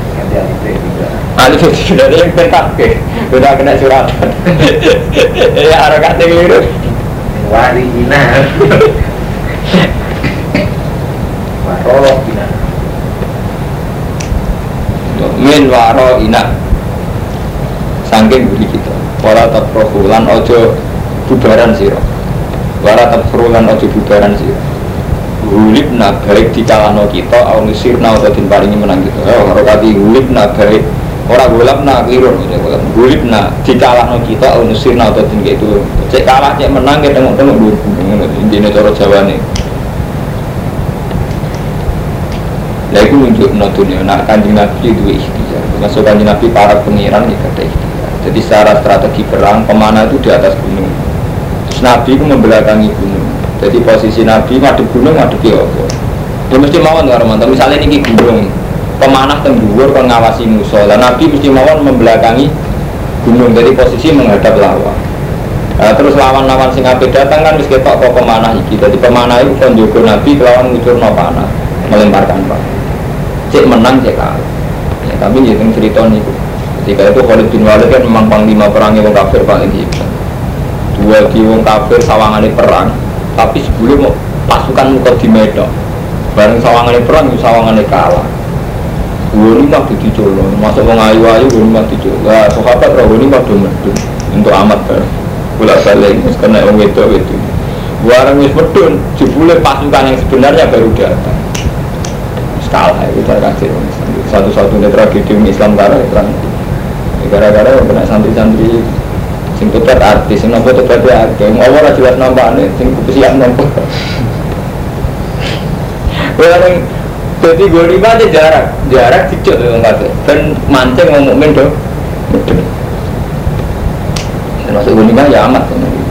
[SPEAKER 1] alif itu sudah ada yang pentak sudah kena suratan ya harokatnya keliru
[SPEAKER 2] warina waro ina
[SPEAKER 1] min waro ina saking buri kita wala taprohulan ojo bubaran siro wala taprohulan ojo bubaran siro hulibna baik dikalahno kita aunusirna atau dimparingi menang kita oh harokati hulibna baik orang gulabna keliru hulibna dikalahno kita aunusirna atau din itu cek kalah cek menang kita tengok-tengok dulu intinya cara Jawa nih nah itu menunjukkan dunia nak kanjeng Nabi itu ikhtiar masuk kanjeng Nabi para pengiran itu ada ikhtiar jadi secara strategi perang pemanah itu di atas gunung terus Nabi itu membelakangi gunung jadi posisi Nabi madep gunung madep ya apa dia mesti mawon nggak romantis misalnya ini gunung pemanah tenggugur kan ngawasi musuh dan Nabi mesti mawon membelakangi gunung jadi posisi menghadap lawan nah, terus lawan-lawan sing ape datang kan mesti ketok kok pemanah iki jadi pemanah itu kan jogo Nabi lawan ngucurno panah melemparkan panah cek menang cek kalah ya, tapi ya yang cerita niku ketika itu Khalid bin Walid kan memang panglima perangnya wong kafir paling hebat dua di wong kafir sawangane perang tapi sebelum pasukan muka di Medan bareng sawangane perang sawangane kalah dua lima dicolong masuk wong ayu-ayu dua lima dicolong lah sahabat roh ini pada medun untuk amat ber bolak balik karena wong itu itu bareng wis medun jebule pasukan yang sebenarnya baru datang skala itu terkasih satu-satunya tragedi Islam karena perang gara-gara kena santri-santri sing tobat artis, sing nopo tobat ya artis ngomong lah jelas nampaknya, sing kesiap nopo bareng jadi gue lima aja jarak jarak dicuk dengan kata dan mancing ngomong mendo termasuk gue lima ya amat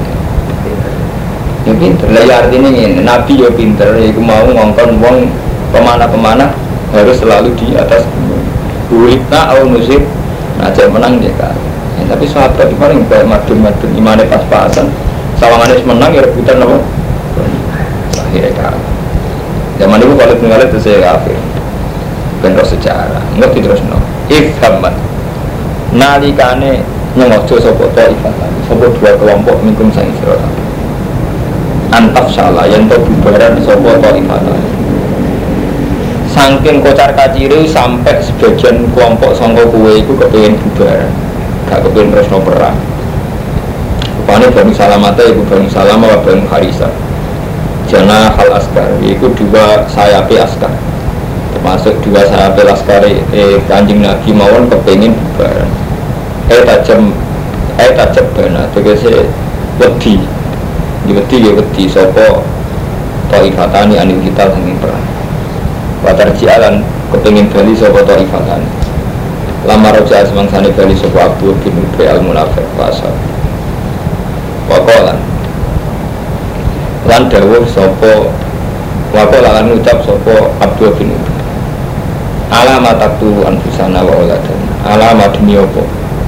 [SPEAKER 1] ya pinter lah ya artinya ini Nabi ya pinter ya mau ngongkon wong pemanah-pemanah harus selalu di atas buitna au musib nah jangan menang dia kan ya, tapi sahabat itu paling kayak madun-madun imannya pas-pasan sawangannya menang ya rebutan apa akhirnya kalah zaman itu kalau tinggal itu saya kafir bentuk sejarah nggak terus no if hamad nalikane nyengojo sopo ta'ifatan sopo dua kelompok minkum sang sirot antaf salah yang to bubaran sopo ta'ifatan saking kocar kaciri sampai sebagian kelompok sangka kue itu kepengen bubaran gak kepengen terus no perang rupanya Bani Salamata itu Bani Salama Bani Harisa jana hal askar itu dua sayapi askar termasuk dua sayapi askar eh kanjeng Nabi mawon kepengen bubaran eh tajam eh tajam bana tegese wedi wedi ya wedi sopo ta'ifatani anil kita sanging perang watar jialan kepengen bali sopo ta'ifatani lama roja semangsane bali sopo Abu bin Ubay al-Munafiq pasal wakolan lan dawuh sapa wakola lan ucap sapa Abdul bin Ubay alamat taktu anfusana wa uladan alamat demi apa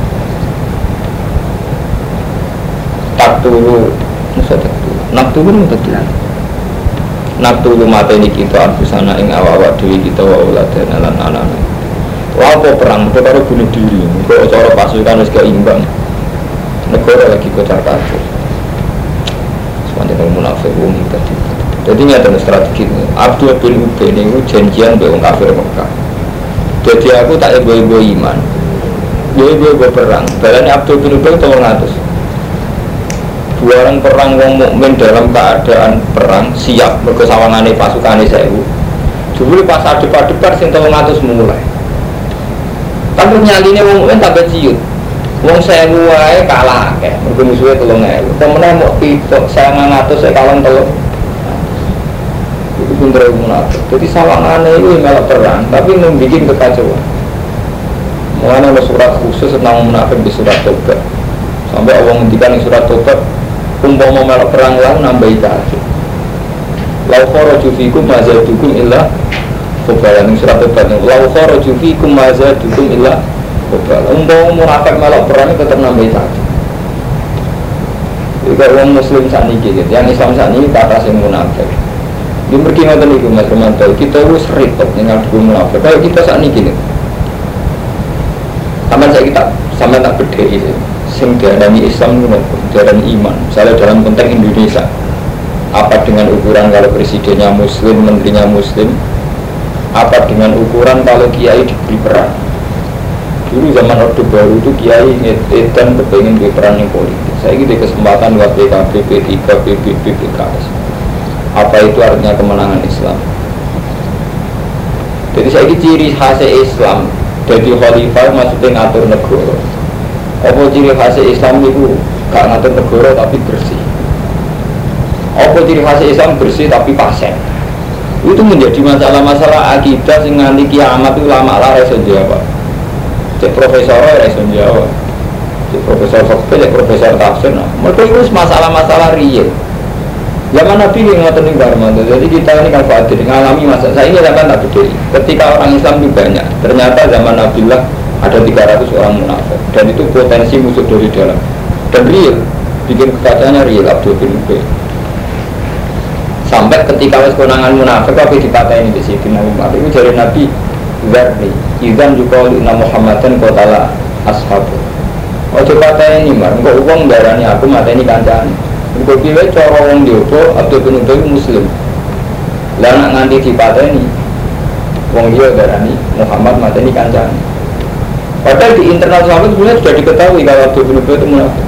[SPEAKER 1] taktulu nusa taktu naktulu taktu naktulu mateni kita anfusana ing awak-awak dhewe kita wa uladan lan anak-anak wa apa perang itu karo bunuh diri kok cara pasukan wis keimbang negara lagi kocar kacir sepanjang munafik wong tadi. Jadi nyata strategi Abdul bin Ubay ini janjian dengan kafir Mekah. Jadi aku tak ego-ego iman, ego-ego perang. Balanya Abdul bin Ubay tolong atas. Dua orang perang wong mukmin dalam keadaan perang siap berkesawangane pasukane sewu. Dulu pas adep-adepan sing tolong atas mulai. Tapi nyaline wong mukmin tak ciut. Wong sewu wae kalah akeh, mergo musuhe telung ewu. Temene mok pitok sangang atus e kalong telung. Itu pinter munafik. Jadi sawangane itu melok perang, tapi membikin kekacauan. Mengenai ada surat khusus tentang munafik di surat Tobat. Sampai Allah ngendikan di surat Tobat, umpama melok perang lan nambahi kafir. Lau kharaju fikum ma zadukum illa khabalan. Surat Tobat. Lau kharaju fikum ma zadukum illa khabalan. Umpama munafik melok perang tetap nambahi kafir. Jika orang muslim saat ini gitu, yang Islam saat ini kata sing munafik. Di pergi ngoten niku Mas Romanto, kita wis repot dengan dukung munafik. Kalau kita saat ini gini. Sama saya kita sama tak beda itu. Sing diarani Islam itu diarani iman. Misalnya dalam konteks Indonesia, apa dengan ukuran kalau presidennya Muslim, menterinya Muslim? Apa dengan ukuran kalau kiai diberi peran? Dulu zaman Orde Baru itu kiai ngedan kepengen di peran yang politik. Saya gitu kesempatan buat P K B, P tiga, P B B, P K S. Apa itu artinya kemenangan Islam? Jadi saya ini ciri khas Islam. Jadi khalifah maksudnya ngatur negara. Apa ciri khas Islam itu gak ngatur negara tapi bersih. Apa ciri khas Islam bersih tapi pasien. Itu menjadi masalah-masalah akidah sing nganti kiamat itu lama lah iso jawab. Cek profesor ora iso jawab. Cek profesor fakih, cek profesor tafsir. Nah, mereka itu masalah-masalah real. Zaman Nabi ini ngotot nih Barmanto. Jadi kita ini kan khawatir mengalami masa saya ini akan tak beda. Ketika orang Islam itu banyak, ternyata zaman Nabi lah ada tiga ratus orang munafik dan itu potensi musuh dari dalam dan real, bikin kekacaannya real. Abdul bin Ubay sampai ketika wes konangan munafik tapi dipatahin di sini Nabi Muhammad itu dari Nabi Zarni Izan juga oleh Muhammadan kotala ashabu. Oh coba tanya ini mar, enggak uang darahnya aku mata ini kancaan. Engkau pilih cara orang diopo Abdul bin Ubay Muslim. Lah nak nganti dipateni wong dia darani Muhammad mateni kancane. Padahal di internal sahabat sebenarnya sudah diketahui kalau Abdul bin Ubay itu munafik.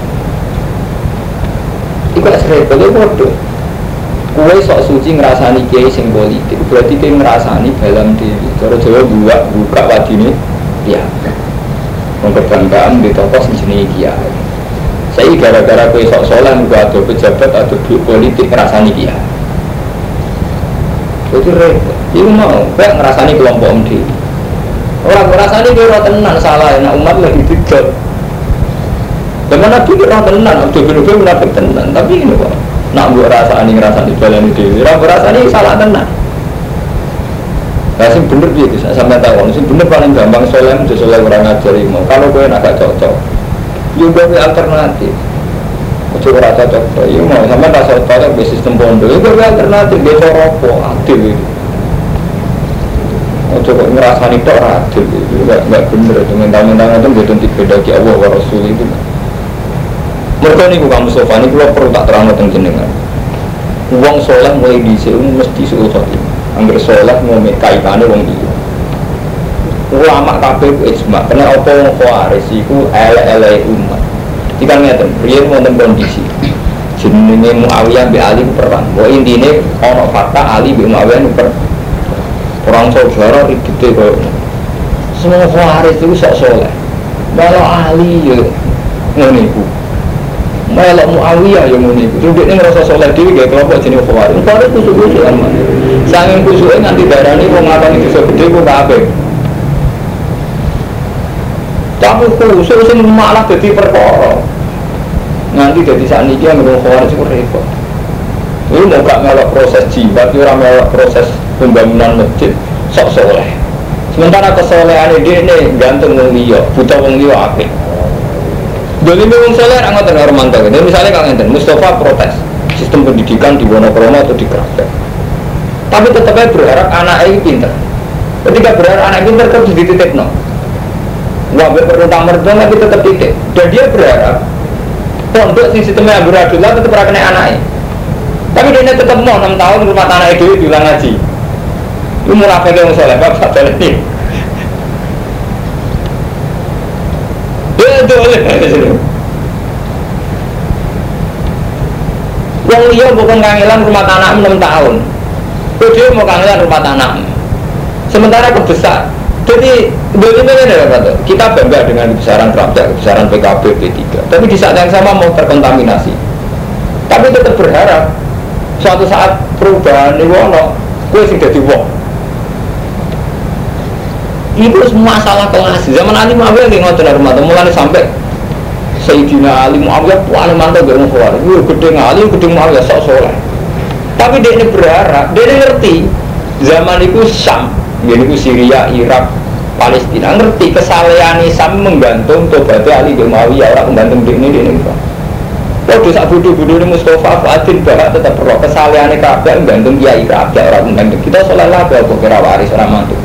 [SPEAKER 1] Iku repot itu bodoh. Kue sok suci ngerasani kiai sing politik berarti kiai ngerasani dalam diri. Cara Jawa buka buka wadine ya. Mengkebanggaan di tokoh sing jenenge kiai. Saya gara-gara kue sok soleh juga ada pejabat atau duit politik ngerasani dia. Itu repot. Itu mau, kayak ngerasani kelompok M D. Orang ngerasani kira tenan salah, nak umat lagi tidak. Zaman Nabi kira tenan, Abdul bin Ubay munafik tenan. Tapi ini kok, nak buat rasani ngerasani jalan itu, orang ngerasani salah tenan. Nah, sing bener dia bisa sampai tahu. Sing bener paling gampang soleh, jadi soleh orang ngajari mau. Kalau kue nak cocok. Juga be alternatif. Ojo ora cocok. Iya mau sampe rasa cocok be sistem pondok. Iku be alternatif be coropo adil itu. Ojo kok ngrasani tok ora adil itu. Enggak enggak bener itu mental-mental ngoten mboten dibedaki Allah wa Rasul itu. Mergo niku Kang Mustofa niku kula perlu tak terangno teng jenengan. Wong saleh mulai dhisik mesti suul khotimah. Angger saleh mau kaitane wong iki. Ulama kabeh ijma kena apa wong khawarij iku ele-ele umat. Jika ngeten, riyen wonten kondisi jenenge Muawiyah bin Ali perang. Wa intine ana fakta Ali bin Muawiyah per perang saudara ribete koyo semua khawarij itu sok saleh. Malah Ali yo ngene iku. Malah Muawiyah yo ngene iku. Dhekne ngrasa saleh dhewe gawe kelompok jenenge khawarij. Khawarij kusuk-kusuk aman. Sanging kusuke nganti darani wong ngakoni dosa gedhe kok kabeh. Tapi khusus sing malah dadi perkara. Nanti dadi sakniki nggo khawarij iku repot. Ini mau gak melok proses jibat, ora melok proses pembangunan masjid, sok soleh. Sementara kesolehan dia ini gantung wong liya, buta wong liya apik. Jadi wong soleh ra ngoten karo mantau. Misalnya Kang Enten, Mustafa protes sistem pendidikan di Wonokromo atau di Kraftek. Tapi tetap aja berharap anaknya ini pinter. Ketika berharap anak pinter terus dititipno. Wah, perlu tamer dong, tapi tetap titik. Dan dia berharap pondok si sistemnya beradullah tetap ora kena anaknya. Tapi dia tetap mau enam tahun rumah tanah itu diulang ngaji. Itu munafik yang soleh, bapak soleh ini. Betul. Yang dia bukan kangelan rumah tanah enam tahun. Dia mau kangelan rumah tanah. Sementara kebesar. Jadi bagaimana kita bangga dengan kebesaran Prabowo, kebesaran P K B, P tiga. Tapi di saat yang sama mau terkontaminasi. Tapi tetap berharap suatu saat perubahan ini wono, gue sing dadi wong. Itu semua masalah kelas. Zaman Ali Muawiyah nggih ngoten hormat, mulane sampai Sayyidina Ali Muawiyah paling mantap gak ngomong. Wih gede Ali, gede Muawiyah sok soleh. Tapi dia ini berharap, dia ini ngerti zaman itu Syam, ini itu Syria, Irak, Palestina ngerti kesalehan Syam menggantung tobatnya Ali bin Muawiyah orang menggantung dia ini dia ini. Kalau sak bodoh-bodoh ini Mustafa Fuadin bahak tetap perlu kesalehan Ka'bah menggantung Kiai Ka'bah orang menggantung kita soleh lah kalau kira waris orang mantu.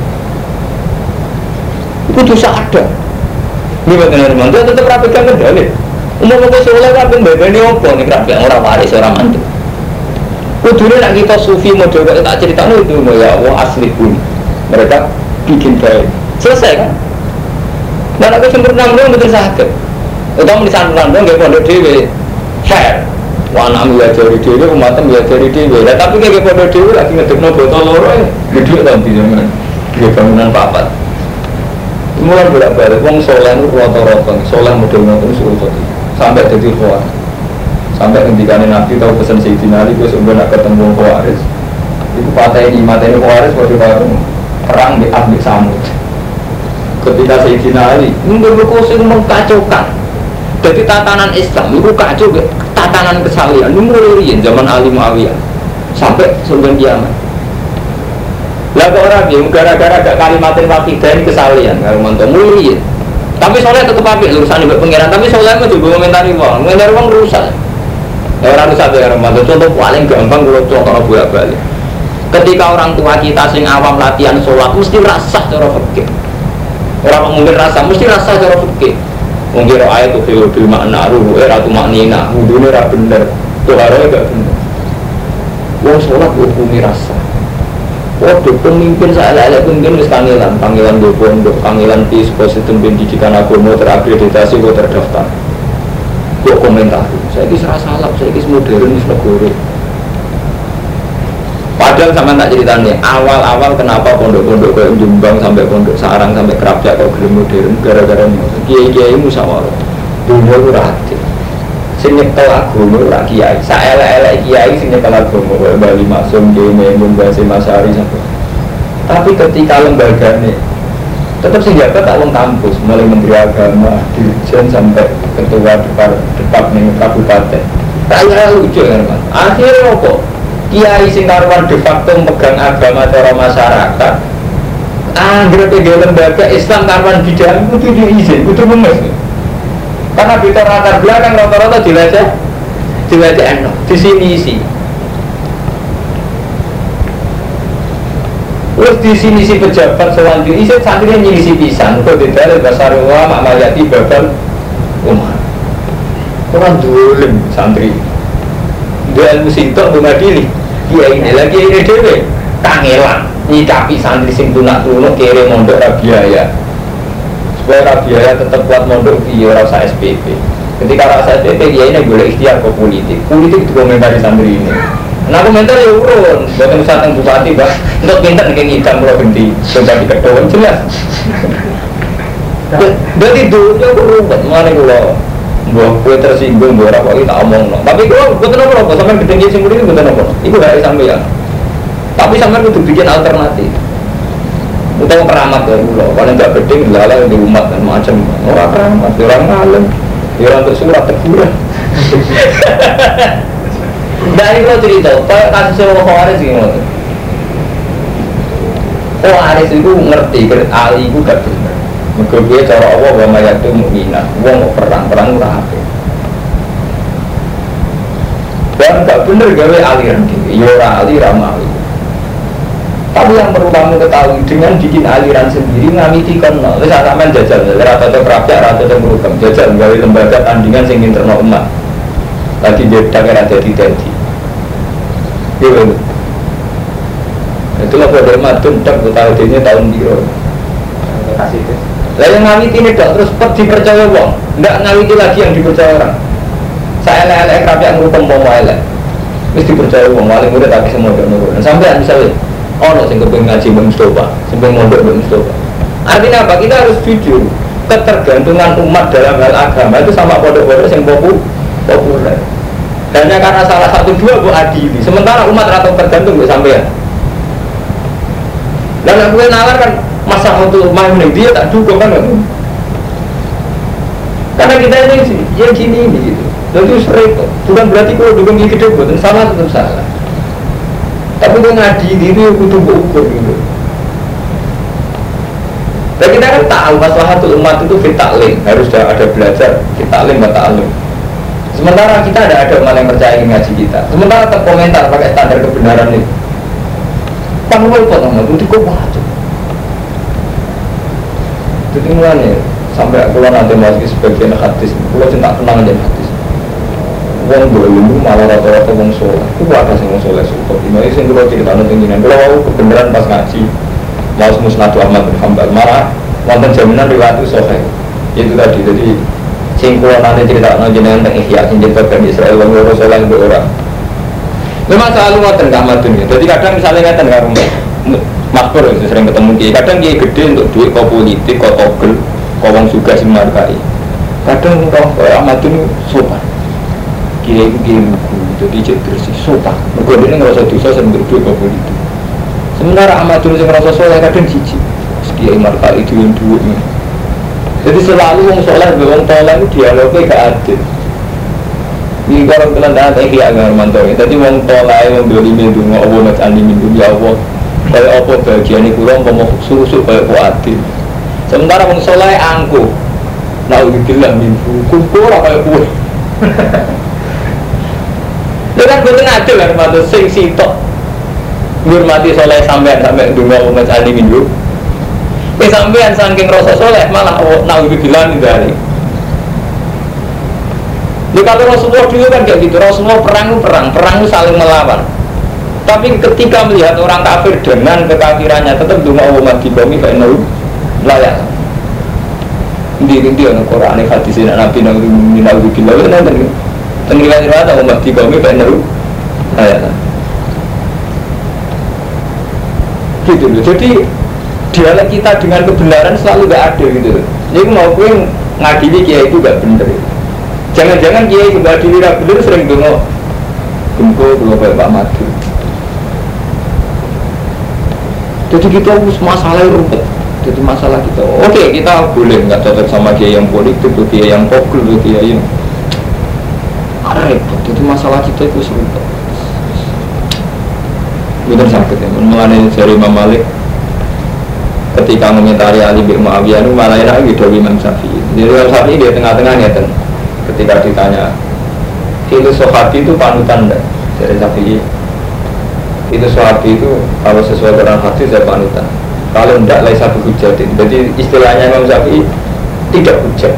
[SPEAKER 1] Itu dosa ada. Ini benar mantu tetap rapikan kendali. Umum aku soleh kan pembebani apa nih Ka'bah orang waris orang mantu. Kudunya nak kita sufi model kalau tak cerita itu ya Allah asli pun mereka bikin baik selesai kan. Dan aku sempurna belum betul sakit. Utama di sana belum nggak pondok dewi fair. Wana mengajari dewi, umatnya mengajari dewi. Nah, tapi kayak pondok dewi lagi ngedek no botol lorong, gede nanti zaman dia bangunan papat. Mulai bolak balik, wong soleh itu rata-rata, soleh model model suruh sampai jadi kuat. Sampai ketika Nabi tahu pesan Sayyidina Ali, gue sebenarnya nak ketemu Khawarij. Itu patah ini, mata ini Khawarij waktu baru perang di Abdik Samud. Ketika Sayyidina Ali, ini berkuasa mengkacaukan. Jadi tatanan Islam itu kacau, tatanan kesalian ini mulai zaman Ali Muawiyah sampai sebelum kiamat. Lalu orang yang gara-gara gak kalimatin wakidah ini kesalian, kalau mantap mulai. Tapi soalnya tetap apik urusan ibu pengiran, tapi soalnya itu juga komentari uang, komentari uang rusak. Ya orang rusak ya orang mantap. Contoh paling gampang kalau contoh bolak balik. Ketika orang tua kita sing awam latihan sholat mesti rasa cara fikih. Orang mungkin rasa mesti rasa cara fikih. Mungkin ayat itu fil makna ruh, eh ratu maknina, wudhunya ra bener, toharohnya gak bener. Wong sholat hukumi rasa. Waduh pemimpin saya lelek pemimpin wis kangelan, panggilan do pondok, panggilan di positif pendidikan agama terakreditasi kok terdaftar. Kok komentar, saya ini serasa salah, saya ini modern, ini negara. Padahal sama tak ceritanya, awal-awal kenapa pondok-pondok kayak Jombang sampai pondok Sarang sampai Kerapjak kok gelem modern gara-gara kiai-kiai musyawarah. Dunia itu rahasia. Sing nyekel agama ora kiai. Saelek-elek kiai sing nyekel agama wae Bali Maksum dene Mbase Masari sampai. Tapi ketika lembagane tetap sing jabat tak wong kampus, mulai menteri agama, dirjen sampai ketua departemen kabupaten. Kaya lucu kan, Mas. Akhirnya apa? Kiai sing karuan de facto megang agama cara masyarakat. Anggere pege lembaga Islam karuan bidang kudu diizin, kudu memes. Karena kita latar belakang rata-rata dilacak, dilacak enak, di sini isi. Terus di sini si pejabat selanjutnya isi santrinya nyisi pisan, kok tidak dasar ulama mayati babal umat. Orang dolim santri. Dia ilmu sintok mengadili. Dia ini lagi ini dewe kangelan nyikapi santri sing tunak-tunuk kere mondok ra biaya. Supaya ra biaya tetap kuat mondok dia rasa S P P. Ketika rasa S P P dia ini boleh ikhtiar ke politik. Politik itu komentari santri ini. Nah komentar ya urun, buatan usahatan bupati bah, untuk pintar nih ngidam kalau ganti coba di kedua jelas. Jadi dulunya berubah, mana kalau buah kue tersinggung, buah apa kita omong no. Tapi kalau buat apa apa, sampai gedeng singgung ini buat apa? Ibu dari sampai ya. Tapi sampai itu bikin alternatif. Untuk keramat ya pulau, kalau nggak gedeng lalai di umat dan macam orang keramat, orang ngalem, orang untuk surat teguran. Dari kalau cerita, kayak kasus orang Khawarij gimana? Khawarij itu ngerti, Ali itu gak benar. Mengkebaya cara Allah, wa mayatu mu'minah. Wong mau perang, perang ora apik. Dan gak benar gawe aliran dhewe, ya ora ali ra mali. Tapi yang perlu kamu ketahui dengan bikin aliran sendiri ngamiti kono. Wis sampean jajal, ora cocok kerapyak, ora cocok program. Jajal gawe lembaga tandingan sing internal umat. Lagi dia daerah jadi-jadi iya itulah pada matun tak tahu ini tahun biru kasih itu lah yang ngawiti ini dok terus pet dipercaya wong enggak ngawiti lagi yang dipercaya orang saya lelek kerapyak ngurupeng bawa elek mesti dipercaya wong paling mudah tapi semua dok nurun sampai misalnya oh no sing kepengen ngaji Mbak Mustafa sampai mondok Mbak Mustafa artinya apa? Kita harus jujur ketergantungan umat dalam hal agama itu sama pondok-pondok yang populer. Hanya karena salah satu dua bu adili. Sementara umat atau tergantung bu sampean. Dan aku nalar kan masa untuk main dia tak dukung kan? Karena kita ini sih, ya gini ini gitu. Jadi repot. Bukan berarti kalau dukung ini gede, bukan salah tetap salah. Tapi kalau ngaji diri itu ukur gitu. Dan kita kan tahu maslahatul umat itu fitaklim, harus ada belajar fitaklim wa ta'alum. Sementara kita ada ada umat yang percaya ngaji kita. Sementara terkomentar pakai standar kebenaran itu. Panggul potong itu kok wajib. Jadi mulanya sampai aku nanti masuk sebagian hadis, aku cinta tenang aja hadis. Wong dulu malah rata-rata wong soleh, itu ada sih wong soleh support. Ini sih kalau cerita nanti gini, kalau aku kebenaran pas ngaji, mau musnadu Ahmad bin Hanbal marah, wonten jaminan riwayat itu soleh. Itu tadi, jadi singkulan nanti cerita nanti tentang ihya, cerita kan Israel wong loro soleh itu orang. Memang selalu ngoten Ahmad bin. Jadi kadang misalnya ngaten karo makmur sering ketemu kiai, kadang kiai gede untuk duit kau politik, kau togel, kau wong juga sing markai. Kadang kau Ahmad bin sopan. Kiai kiai buku, jadi cek bersih, sopan. Mereka ini ngerasa dosa sambil duit kau politik. Sementara Ahmad bin yang ngerasa soleh kadang cici. Kiai markai itu yang duit. Jadi selalu wong soleh, wong toleh itu dialognya gak adil. Ini kalau kalian dah tak kiai agak mantau. Tadi wong toleh wong beli minum, Allah nak andi minum ya Allah. Kayak apa bagian ini kurang, mau susu kayak kuatin. Sementara orang soleh angku, nak bilang minggu, kumpul kayak kue. Dengan betul adil kan, maksud sing sitok, hormati soleh sampean sampai dua umat adi minggu. Eh sampean saking rasa soleh malah nak bilang dari. Jadi kalau Rasulullah dulu kan kayak gitu, Rasulullah perang perang, perang itu saling melawan. Tapi ketika melihat orang kafir dengan kekafirannya tetap dunga umat di bumi kayak nol layak. Di di orang Quran ini hadis ini Nabi Nabi Nabi Nabi itu nanti tenggelam riwayat umat di bumi kayak nol layak. Gitu loh. Jadi dialog kita dengan kebenaran selalu gak ada gitu. Jadi mau gue ngadili kiai itu gak bener. Jangan-jangan kiai itu ngadili gak bener sering dunga gempo belum kayak Pak Madu. Jadi kita harus masalah rumput. Jadi masalah kita. Oke, kita boleh nggak cocok sama kiai yang politik, kiai yang pokok, kiai yang repot. Jadi masalah kita itu serumput. Benar sakit ya. Mengenai dari Imam Malik ketika mengomentari Ali bin Muawiyah itu malah enak gitu Imam Syafi'i. Jadi Imam Syafi'i dia tengah-tengahnya kan. Ketika ditanya, itu sahabi itu panutan enggak? Dari Syafi'i. Itu sahabi itu kalau sesuai dengan hadis saya panutan. Kalau tidak lain satu hujatin. Jadi istilahnya Imam Syafi'i tidak hujat.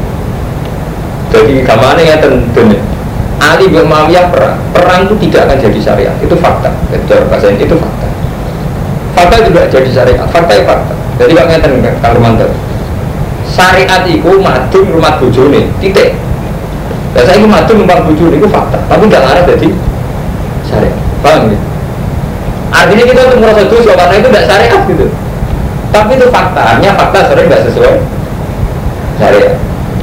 [SPEAKER 1] Jadi kemana ya tentunya Ali bin Muawiyah perang perang itu tidak akan jadi syariat, itu fakta. Cara bahasa ini itu fakta. Fakta juga jadi syariat, fakta itu fakta. Jadi kalau ngeten Kang Romanto, syariat itu madun rumah bojone titik. Dan saya itu madun rumah bojone itu fakta, tapi tidak ada jadi syariat. Paham ya? Artinya kita untuk merasa dosa karena itu tidak syariat gitu. Tapi itu fakta, artinya fakta sering tidak sesuai syariat.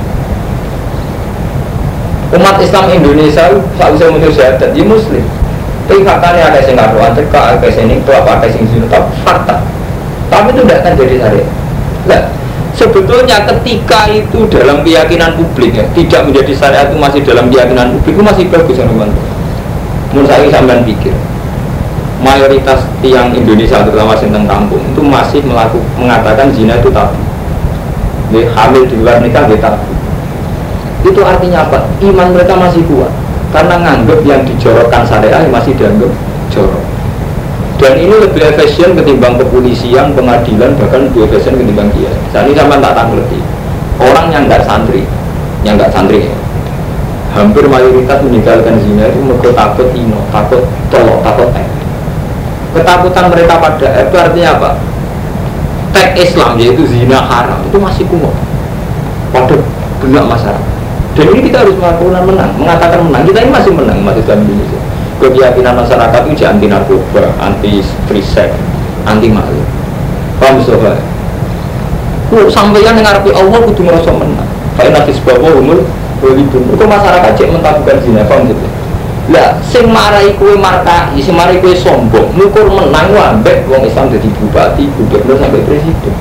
[SPEAKER 1] Umat Islam Indonesia saat usia menuju syahadat di Muslim. Tapi faktanya ada yang ngaruhan cekak, ada yang itu apa, ada yang sini, tapi fakta. Tapi itu tidak akan jadi syariat. Nah, sebetulnya ketika itu dalam keyakinan publik ya, tidak menjadi syariat itu masih dalam keyakinan publik itu masih bagus ya teman. Menurut saya sampean pikir. Mayoritas tiang Indonesia terutama tentang kampung itu masih melakukan mengatakan zina itu tabu. Jadi hamil di luar nikah itu tabu. Itu artinya apa? Iman mereka masih kuat karena nganggap yang dijorokkan syariah masih dianggap jorok. Dan ini lebih efisien ketimbang kepolisian, pengadilan, bahkan lebih efisien ketimbang kiai. Saat ini sama tak tanggerti. Orang yang nggak santri, yang nggak santri, hampir mayoritas meninggalkan zina itu mereka takut ino, takut tolok, takut tek. Ketakutan mereka pada itu artinya apa? Tek Islam yaitu zina haram itu masih kuat pada benak masyarakat. Dan ini kita harus melakukan menang, mengatakan menang. Kita ini masih menang umat Islam Indonesia. Keyakinan masyarakat itu anti narkoba, anti free sex, anti maling. Paham soalnya? Kok sampeyan yang ngarepe Allah kudu ngerasa menang. Fa inna hisbahu humul walidun. Kok masyarakat cek mentabukan zina, paham gitu? Lah sing marai kowe markai, sing marai kowe sombong, ngukur menang ambek wong Islam dadi bupati, gubernur sampai presiden.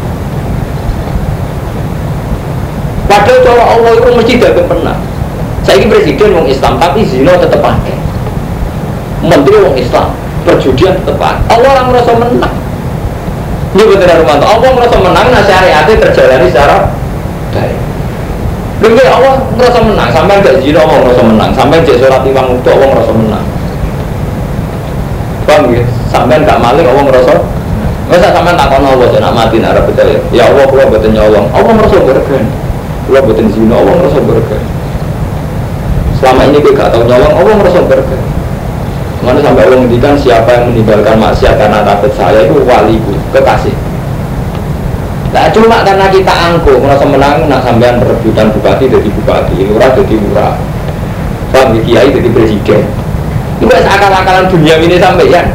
[SPEAKER 1] Padahal cara Allah itu mesti dagang menang. Saiki presiden wong Islam tapi zina tetep akeh. Menteri wong Islam, perjudian tetep akeh. Allah ora merasa menang. Ini betul Romanto. Allah merasa menang, nah syariatnya terjalani secara baik. Lalu Allah merasa menang, sampai gak zina Allah merasa menang, sampai jek sholat lima waktu Allah merasa menang. Paham ya? Sampai gak maling Allah merasa. Masa sampai takon Allah nak mati nak ora percaya. Ya Allah kula mboten nyolong. Allah merasa bergen. Kula mboten zina, Allah merasa bergen. Selama ini kita gak tahu nyolong, Allah merasa bergen. Mana sampai Allah menghentikan siapa yang meninggalkan maksiat karena takut saya itu waliku, kekasih. Nah cuma karena kita angkuh, merasa menang, nak sampean perebutan bupati jadi bupati, lurah jadi lurah, paham kiai jadi presiden. Itu kan akal-akalan dunia ini sampean.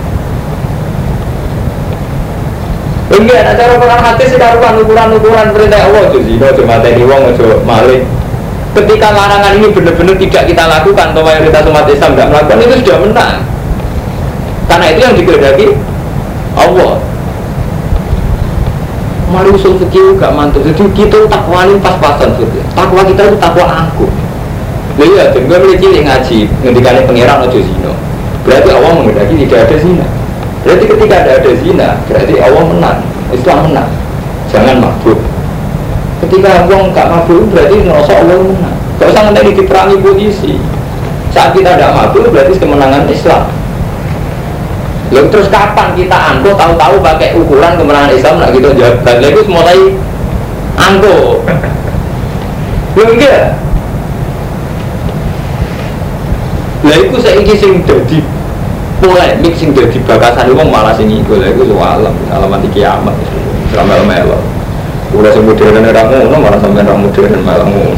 [SPEAKER 1] Enggak, ada cara Quran hadis sekarang ukuran-ukuran perintah Allah itu zina, cuma tadi wong ojo maling. Ketika larangan ini benar-benar tidak kita lakukan atau mayoritas umat Islam tidak melakukan, itu sudah menang. Karena itu yang dikehendaki Allah. Mari usul fikih gak mantul. Jadi kita takwanin pas-pasan fikih. Takwa kita itu takwa angkuh. Jadi ya, gue mulai cilik ngaji ngendikane pangeran ojo zina. Berarti Allah menghendaki tidak ada zina. Berarti ketika ada ada zina, berarti Allah menang. Islam menang. Jangan mabuk. Ketika orang gak mabuk berarti ngerasa Allah menang. Gak usah nanti diperangi polisi. Saat kita tidak mabuk berarti kemenangan Islam. Lalu terus kapan kita angko tahu-tahu pakai ukuran kemenangan Islam nak gitu jawab. Dan itu mulai angko. Lalu enggak. Lah itu saya ingin sing jadi polemik sing jadi bakasan itu malah sing ikut. Lah itu soalan alamat kiamat. Selama-lama udah sing modern orang ngono malah sampai orang modern malah ngono.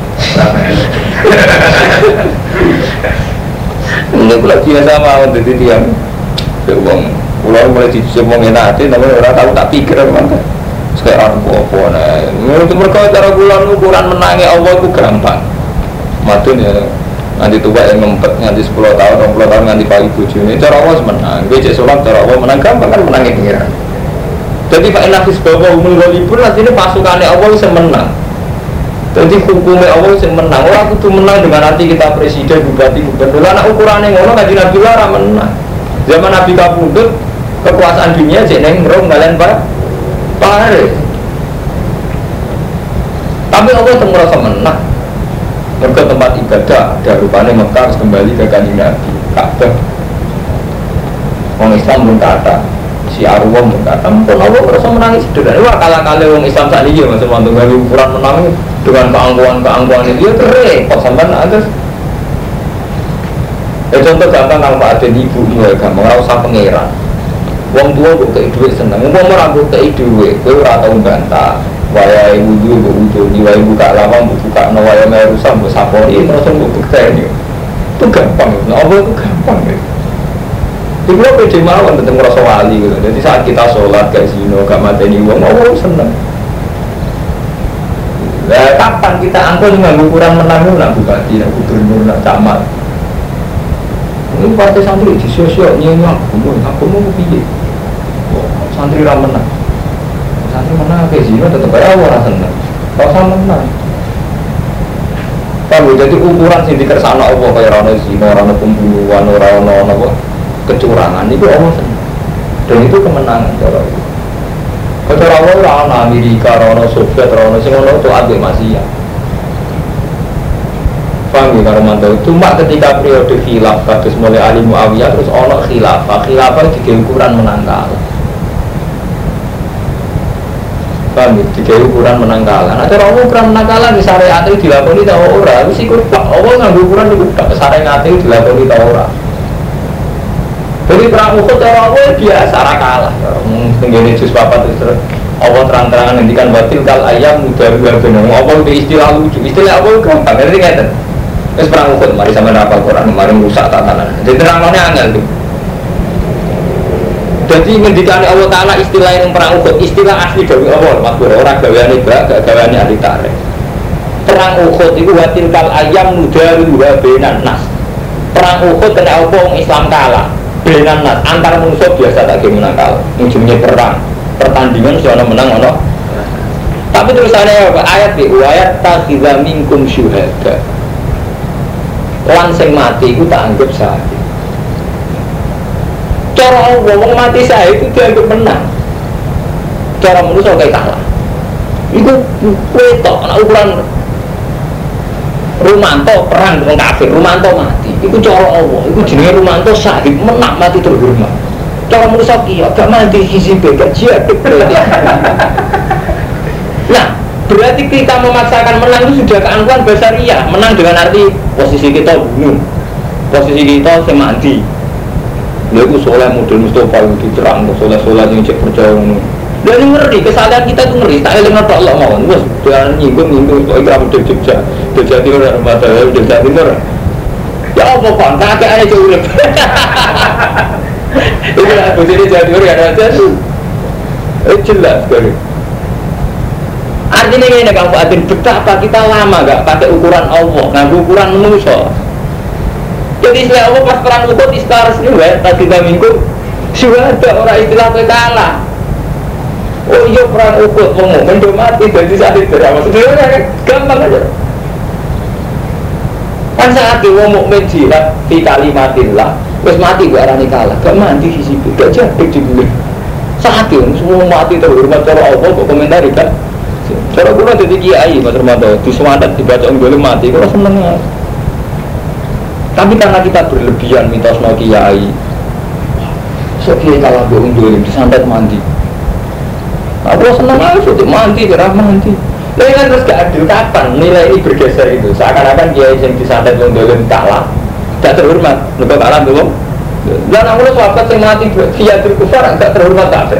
[SPEAKER 1] Ini kula biasa mawon dadi tiyang wong kula mulai dicemong enak ati tapi ora tahu tak pikir mangke. Sekarang apa nah. Menurut mereka cara kula ukuran menangi Allah itu gampang. Madun ya nanti tua yang ngempet nganti sepuluh tahun, dua puluh tahun nganti pagi bojone cara Allah menang. Becek salat cara Allah menang gampang kan menangi pengiran. Jadi Pak Inafis bahwa umul walibur nanti ini pasukannya Allah bisa menang. Jadi hukumnya Allah bisa menang. Orang itu menang dengan nanti kita presiden, bupati, gubernur. Anak ukurannya ngono ngaji Nabi Lara menang. Zaman Nabi Kapundut kekuasaan dunia jadi ngerong kalian pak Paris. Tapi Allah itu merasa menang. Mereka tempat ibadah ada rupanya Mekah harus kembali ke kanjeng Nabi Ka'bah. Orang Islam pun kata si Arwah berkata, mungkin Allah merasa menangis sederhana. Wah kala-kala orang Islam saat ini masih mantu ngali ukuran menang dengan keangkuhan-keangkuhan itu dia repot sampai ada. Ya contoh gampang kalau Pak Aden ibu mulai gampang, nggak usah pangeran. Wong tua kok kei duit seneng, wong orang kok kei duit, kau rata membantah. Waya ibu dulu berujo, waya buka lawang, buka nawaya merusak, bu sapori, merasa bu bukti itu gampang, nah Allah itu gampang ya. Jadi gue pede mawon tentang merasa wali gitu. Jadi saat kita sholat gak zino, gak mateni uang, Allah seneng. Nah kapan kita angkut dengan ukuran menang, nak bupati, nak gubernur, nak camat. Ini partai santri di sosial nyanyi aku mau, aku mau pilih. Santri lah menang. Santri menang ke zino tetap aja orang seneng. Rasa menang. Kalau jadi ukuran sih dikersana Allah kayak rana zino, rana pembunuhan, rana apa? Kecurangan itu Allah senang. Dan itu kemenangan cara itu. Cara Allah rana Amerika, rana Soviet, rana semua itu ambil masih ya. Paham ya kalau mantau. Cuma ketika periode khilaf kados mulai Ali Muawiyah terus ono khilafah, khilafah di ukuran menang kalah. Paham ya, di ukuran menang kalah. Nah cara Allah ukuran menang kalah di syariat itu dilakoni ta ora? Wis iku Pak Allah nganggo ukuran iku tak syariat itu dilakoni ta ora? Jadi perang Uhud cara Allah biasa ra kalah. Tenggene juz papat terus Allah terang-terangan ngendikan batil kal ayam mudah luar benang. Allah itu istilah lucu. Istilah Allah gampang ngerti ngeten. Wis perang Uhud mari sampeyan hafal Quran, mari rusak tatanan. Jadi terangane angel tuh. Jadi ngendikane Allah Taala istilah yang perang Uhud, istilah asli dari Allah, maksud ora gaweane bak, gak gaweane ahli tarikh. Perang Uhud itu batil kal ayam mudah luar benang nas. perang Uhud kena apa Islam kalah. Benan nas antar musuh biasa tak menang kalah. Ujungnya perang, pertandingan soalnya menang ono. Tapi terusannya apa? Ayat di ayat takhidza minkum syuhada. Lan sing mati iku tak anggap syahid. Cara wong mati syahid itu dianggap menang. Cara manusia kayak kalah. Iku wetok ana ukuran Rumanto perang dengan kafir, Rumanto mati. Iku cara Allah, iku jenenge Rumanto syahid, menang mati terhormat. Cara manusia kiyo gak mati hizib gak jihad. Nah, berarti kita memaksakan menang itu sudah keangkuhan basariah. Menang dengan arti posisi kita bunuh, posisi kita semati. Lalu soleh model Mustafa itu diterang, soleh-soleh yang cek percaya ini. Dan ini ngeri, kesalahan kita itu ngeri. Tak ada yang Allah mau, bos. Jangan nyinggung nyinggung. Kau ikut model Jogja, Jogja Timur, mata Jogja Timur. Ya apa pak? Kakek aja jauh lebih. Itu lah, bos ini Jogja Timur ya ada tuh. Eh jelas sekali. Artinya ini Kang Fuadin, betapa kita lama gak pakai ukuran Allah, nggak ukuran manusia. Jadi istilah Allah pas perang Uhud istilah resmi ya, tadi kita minggu sudah ada orang istilah kalah. Oh iya perang Uhud mau mendo mati jadi saat itu apa sebenarnya kan gampang aja. Kan saat itu mau mukmin jihad di kalimatillah, terus mati gak arani kalah, gak mati di situ, gak jadi dibeli. Saat itu semua mati terhormat cara Allah kok komentari kan. Cara gue nanti di kiai Mas Romanto di semangat dibaca boleh mati, gue seneng ya. Tapi karena kita berlebihan mitos no kiai, so kiai kalah bohong dolim disantet mandi. Aku seneng aja sudah mandi, gerah mandi. Lalu kan terus gak adil kapan nilai ini bergeser itu. Seakan-akan kiai yang disantet bohong dolim kalah, gak terhormat, lebih kalah belum. Dan aku sahabat yang mati kiai berkufar gak terhormat kafe.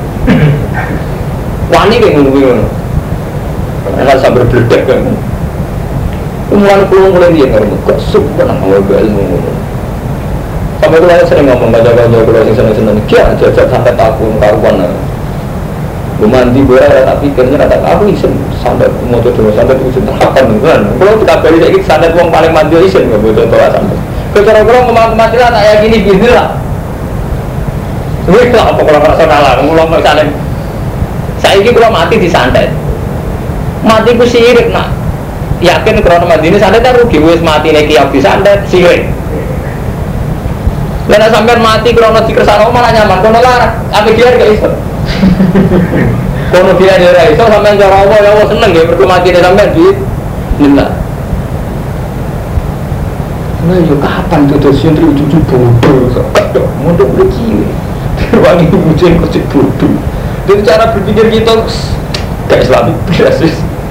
[SPEAKER 1] Wani kayak ngono-ngono. Enggak sampai berbeledek kan. Kemudian pulang mulai dia ngomong, kok super nak ngomong ilmu. Sampai itu saya sering ngomong baca-baca kalau yang seneng-seneng, kia jajak sampai takut karuan. Mandi boleh, tapi kerja ada aku isen sampai mau coba sampai itu isen terhapan kan. Kalau kita beli lagi sampai uang paling mandi isen nggak boleh coba sampai. Kecara-cara ngomong mati lah, tak yakin ini bisnis lah. Wih lah apa kalau merasa kalah, ngulang misalnya. Saya ini kalau mati disantet. Mati ku sirik nak yakin krono mati ini santet tak rugi wis mati neki yang disantet sirik. Karena sampai mati krono dikersano malah nyaman kono lara apa dia gak iso. Kono dia ora iso sampean cara Allah ya Allah seneng ya mergo mati sampean di lillah. Nah yo kapan tuh terus yang cucu bodoh kok mondok begini. Wangi bucin kok bodoh. Jadi cara berpikir kita gak Islamik biasa.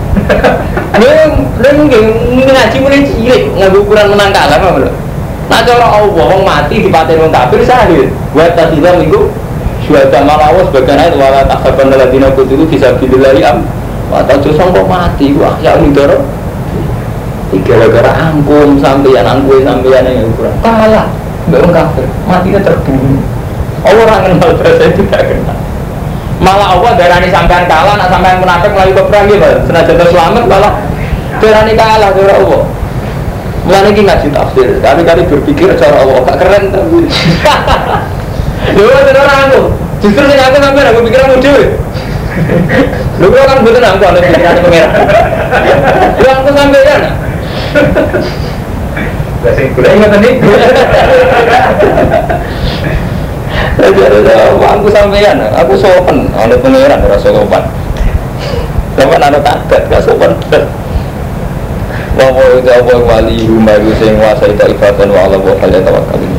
[SPEAKER 1] Neng ngaji mulai cilik nggak ukuran menang kalah apa belum? Nah cara Allah wong mati di paten wong kafir sahid. Buat tadi dalam minggu sudah malawas bagaimana itu wala takhaban ladina kutilu bisa bililari am. Atau justru kok mati wah ya ini doro. Gara-gara angkum sampeyan angkum sampeyan yang ukuran kalah. Mbak wong kafir matinya terbunuh. Orang kenal saya tidak kenal. Malah Allah darani sampean kalah, nak sampean munafik melalui peperang gitu. Senajan terselamat malah darani kalah cara Allah. Mulane iki ngaji tafsir, kali-kali berpikir cara Allah gak keren tapi. Lho ora aku. Justru sing aku sampean aku pikiranmu dhewe. Lho kok kan mboten aku ana pikiran pengeran. Lho aku sampean. Lah sing kula ingat iki. Jadi aku sampean, aku sopan, ada pengeran rasa sopan. Sopan ada takat, gak sopan. Wa wa wali rumah sing wasai ta'ifatan wa ala wa hal yatawakkal.